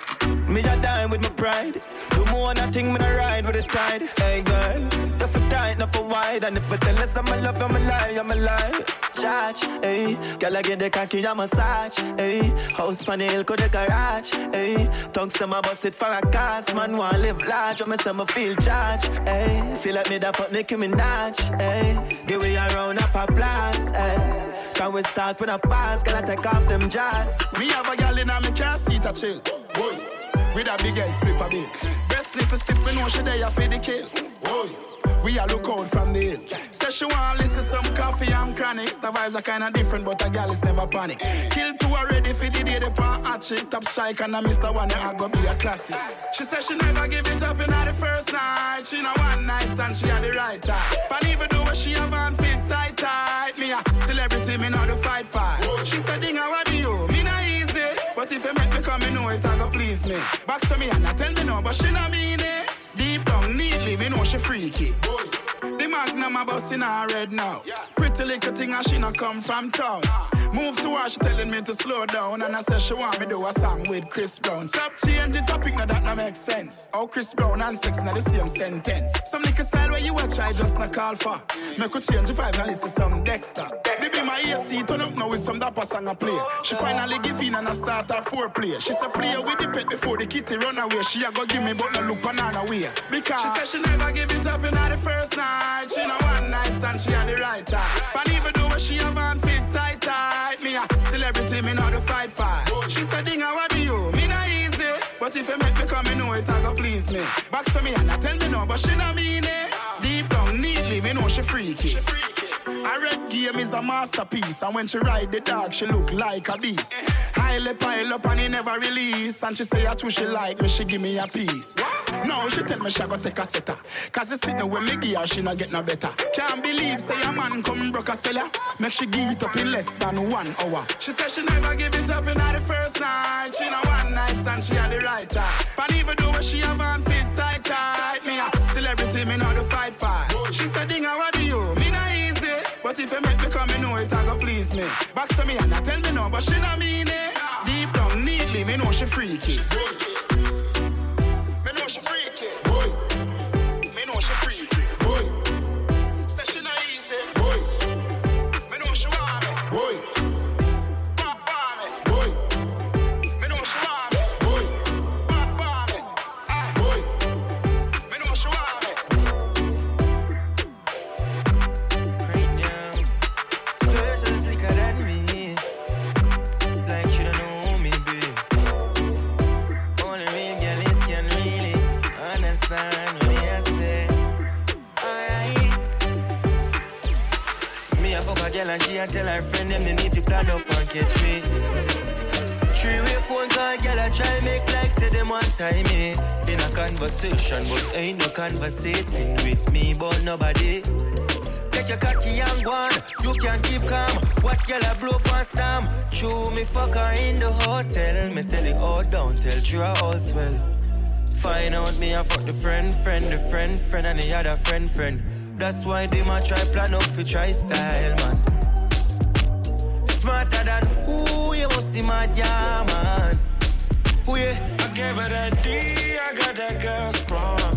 Me a dine with my pride. Do more than a thing, me a ride with the tide. Hey girl, if for tight, not for wide. And if I tell us I'm a love, I'm a lie. Charge, hey. Girl I get the cocky, a massage, hey. House pan the hill, go the garage, hey. Tongues to my bus it for a cast. Man want live large, I say me feel charged, hey. Feel like me da fuck Nicki Minaj, hey. Give me a round of applause, hey. Can we start with a pass? Gotta take off them jars. Me have a girl in a me car seat a chill. Boy, with a big ass split a bit. Best slip a slip, we know she there for the kill. Boy, we a look out from the hill. Say she want listen some coffee and chronics. The vibes are kinda different, but a girl is never panic. Kill two already for the day, they pan hot chick. Top strike and a Mr. One, I go be a classic. She said she never give it up in the first night. She know one night stand, she had the right time. But even though she have on fit tight. Me a celebrity, me know the fight. She said, Dinga, what do you? Me not easy. But if you make me come, me know it, I go please me. Back to me and I tell me no, but she not mean it. Deep down, neatly, me know she freaky. The magnum a bust in her red now. Pretty little thing and she not come from town. Move to her, she telling me to slow down. And I said she want me do a song with Chris Brown. Stop change the topic, now that no make sense. How Chris Brown and sex now the same sentence. Some nigga style where you watch, I just not call for. Make her change the vibe and listen some Dexter. They be my AC, turn up now with some dapper song I play. She finally give in and I start her foreplay. She said play with the pet before the kitty run away. She a go give me but no look banana way. Because she said she never give it up in the first night. She know one night stand, she had the right time. But even though she have on fit tight. Me a celebrity, me know the fight. She said, Dinga, what do you? Me not easy. But if you make me come, me know it, I go please me. Back to me and I tell me no, but she not mean it. Deep down, neatly, me know she freaky. A red game is a masterpiece. And when she ride the dog, she look like a beast. Highly pile up and he never release. And she say I too she like me, she give me a piece. No, she tell me she go take a setter. Cause the signal when me give her, she not get no better. Can't believe say a man come broke a fella. Make she give it up in less than 1 hour. She said she never give it up in the first night. She know one night stand, she had the right time. But even though she have on fit tight. Me a celebrity, me know the fight. She said, Dinga, what do you? Me not easy. But if you make me come, me know it, I go please me. Back to me and I tell me no, but she not mean it. Deep down, neatly, me know she freaky. Me know she freaky. Boy. Me know she freaky. Boy. Say she not easy. Boy. Me know she want me. Boy. Papa me. Boy. Me know she want me. Boy. Papa me. Ah, boy. Me know she want me. Great young. Girl, she's slicker than me. Like she don't know me, babe. Only real girls can really understand what I say. Alright. Me a fuck a girl and she a tell her friend them they need to plan up and catch me. 3-way phone call, girl I try make like say them one time me. In a conversation, but ain't no conversating with me, but nobody. Take your cocky and go on, you can keep calm. Watch girl a blow up and stamp. Chew me fuck her in the hotel. Me tell it all down, tell you all swell. Find out me a fuck the friend, and the other friend. That's why they might try plan up for try style, man. Smarter than who you must see my yeah, man. Who yeah? I gave her that D, I got that girl sprung.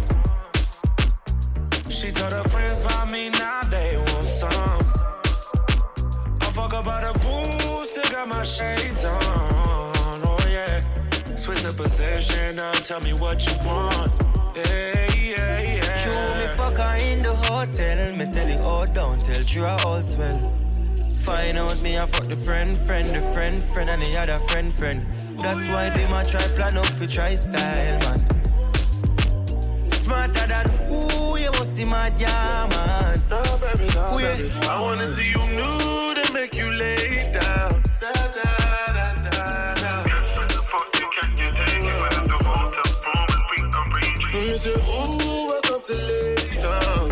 She told her friends about me, now they want some. I fuck about a boost, still got my shades on. Oh yeah, Swiss the position, now tell me what you want. Yeah. You me fuck her in the hotel, me tell you all don't tell you all swell. Find out me I fuck the friend, and the other friend. That's why they might try plan up for try style, man. Smarter than who you must see my man. No, baby. I wanna see you nude and make you lay down. You say, ooh, welcome to lay down.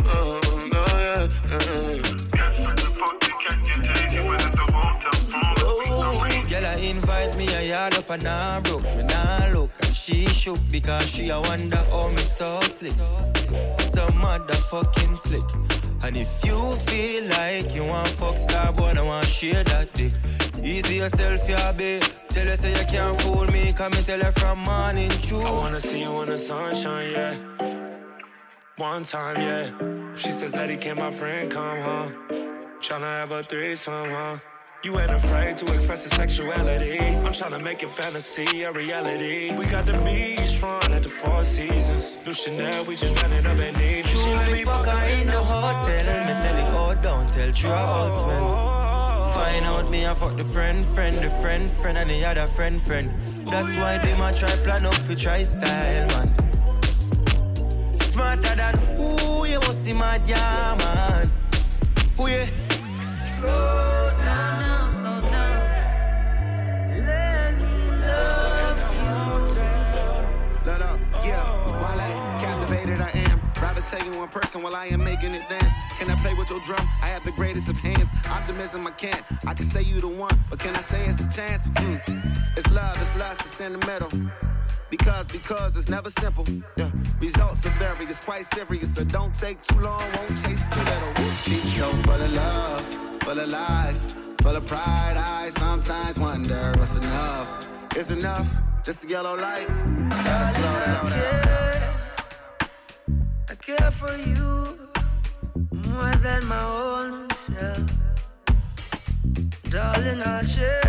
Girl, I invite me a yard up and I broke. Me nah look and she shook because she a wonder how me so slick. So motherfucking slick. And if you feel like you want fuck star boy, I want share that dick. Easy yourself, yeah, babe. Tell her say you can't fool me, come and tell her from morning true. I wanna see you in the sunshine, yeah. One time, yeah. She says, Eddie, can my friend come home? Tryna have a threesome, huh? You ain't afraid to express the sexuality. I'm tryna make your fantasy a reality. We got the beach front at the Four Seasons. New Chanel, we just ran it up and need. She let me fuck her in the hotel. Me tell you all don't tell you all swell. Find out me I fuck the friend, and the other friend. That's why they might try plan up for try style, man. Smarter than who you must see my man. Who you? Slow down. Let me love you. Let up, yeah. While I captivated, I am. Rather tell you one person while I am making it dance. Can I play with your drum? I have the greatest of hands. Optimism I can't. I can say you the one, but can I say it's a chance? It's love, it's lust, it's in the middle. Because it's never simple. Yeah. Results are various, quite serious. So don't take too long, won't chase too little. She's so full of love, full of life, full of pride. I sometimes wonder what's enough. Is enough just a yellow light? Gotta slow down. I care for you more than my own self. Darling, I'll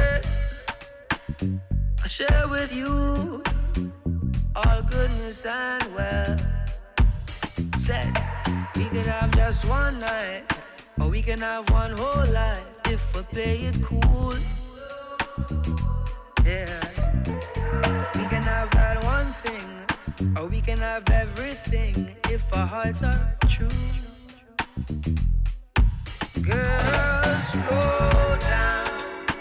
share with you all goodness and wealth. Said we could have just one night, or we can have one whole life if we play it cool. Yeah, we can have that one thing, or we can have everything if our hearts are true. Girl, slow down.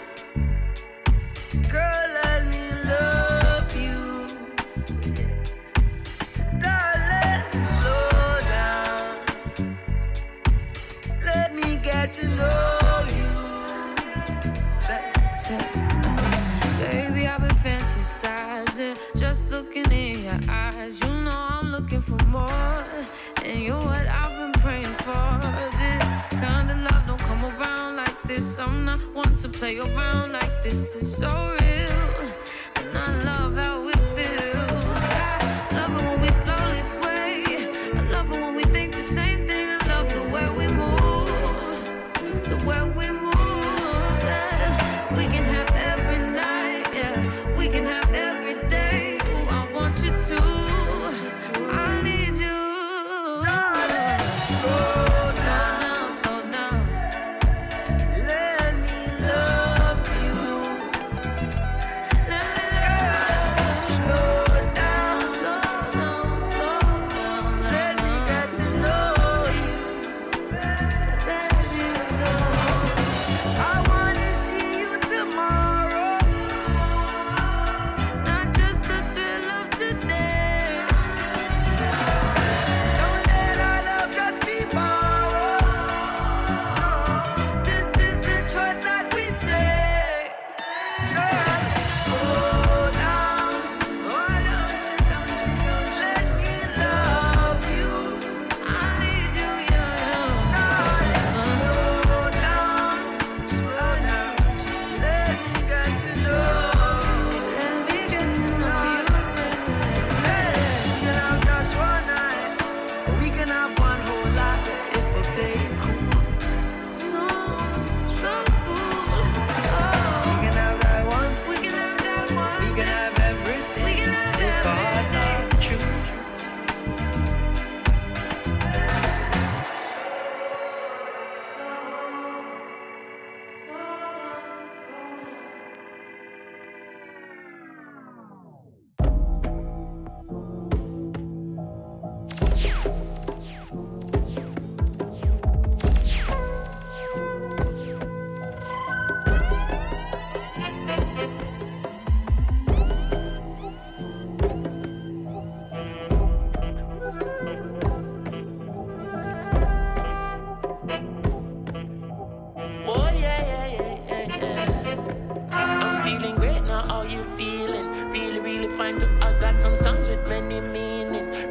Girl, let me love you. Darling, slow down. Let me get to know you. Baby, I've been fantasizing, just looking in your eyes. You know I'm looking for more, and you're what I've been praying for. This kind of love don't come around like this. I'm not one to play around like this. It's so real, and I love how it feels. I love it when we slowly sway. I love it when we think the same thing. I love the way we move, the way we move. Yeah. We can have every night, yeah. We can have every day. Ooh, I want you to. I need you. Tomorrow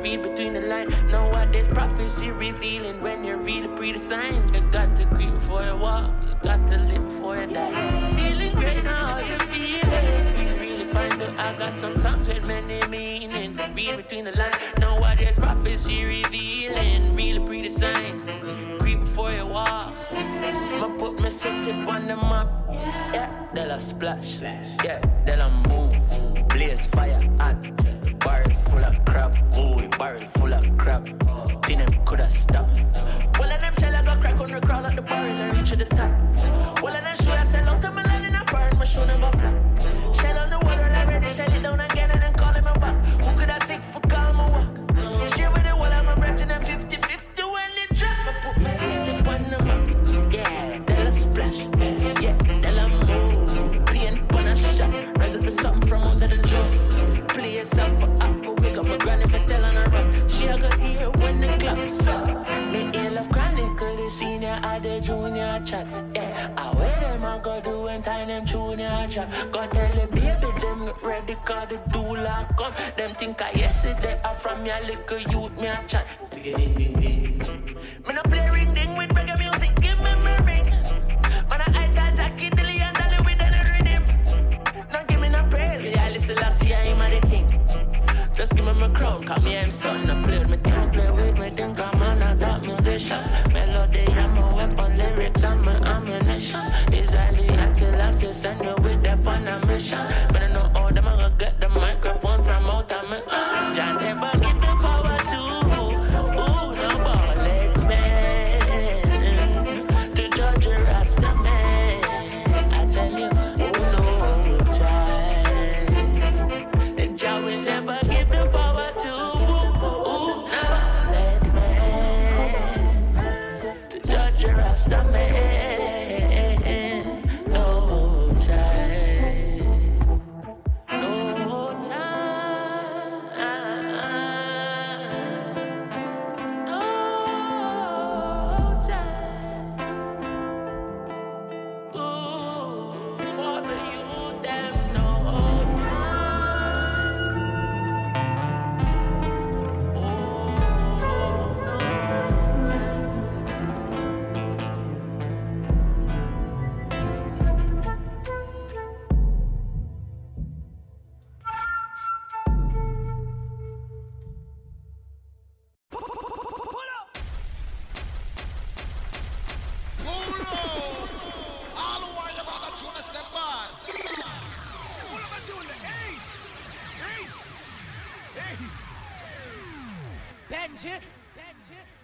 read between the lines. Nowadays prophecy revealing when you read the signs. You got to creep before you walk, you got to live before you die. Feeling great now, how you feeling? Really fine too. I got some songs with many meanings. Read between the lines. Nowadays prophecy revealing, really pretty signs. Creep before you walk. I'ma put my city on the map. Yeah, they'll a splash. Yeah, they'll a move. Blaze fire hot. Barrel full of crap. Ooh, barrel full of crap. Think them coulda stopped. Well, of them shell I got crack on the crawl at the barrel and reach to the top. Well, of them show I sell out to my land in a barn. My show never flop. Shell on the wall when I'm ready. Shell it down again and then call him back. Who could I sick for call my walk? Share with the wall I'm a branch and I'm 50-50 when they drop. I put my city on the map. Yeah, they'll a splash. Yeah, they'll a move. Paint on a shot. Rise up the something from under the drum. Play yourself for up, but wake up my granny for tell on her run. She a go hear when the claps up. Me ill of chronicle, the senior or the junior chat. Yeah, I wear them I go do and time them junior chat. Go tell the baby them get ready cause the doula come. Them think I yesterday I from your little youth me a chat. Stick it ding ding ding. Me no play ring ding with reggae music, give me my ring. Man I got Jackie Dilly and Dolly with any rhythm. Don't give me no praise, yeah listen last year I'm a the king. Just give me my crown, cause me I'm son. I play with me, can't play with me, think I'm on a top musician. Melody, I'm a weapon, lyrics, I'm an ammunition. Israeli, I still last year, send me with them on a mission. But I know all them, I'm gonna get the microphone from out of me. Jah never give the power to, no ballad man. To judge a Rasta man. I tell you, no time. And Jah will never give the power to ballad man. To judge a Rasta man. No time. No time. No time. Ooh, for the youth, them no Benji.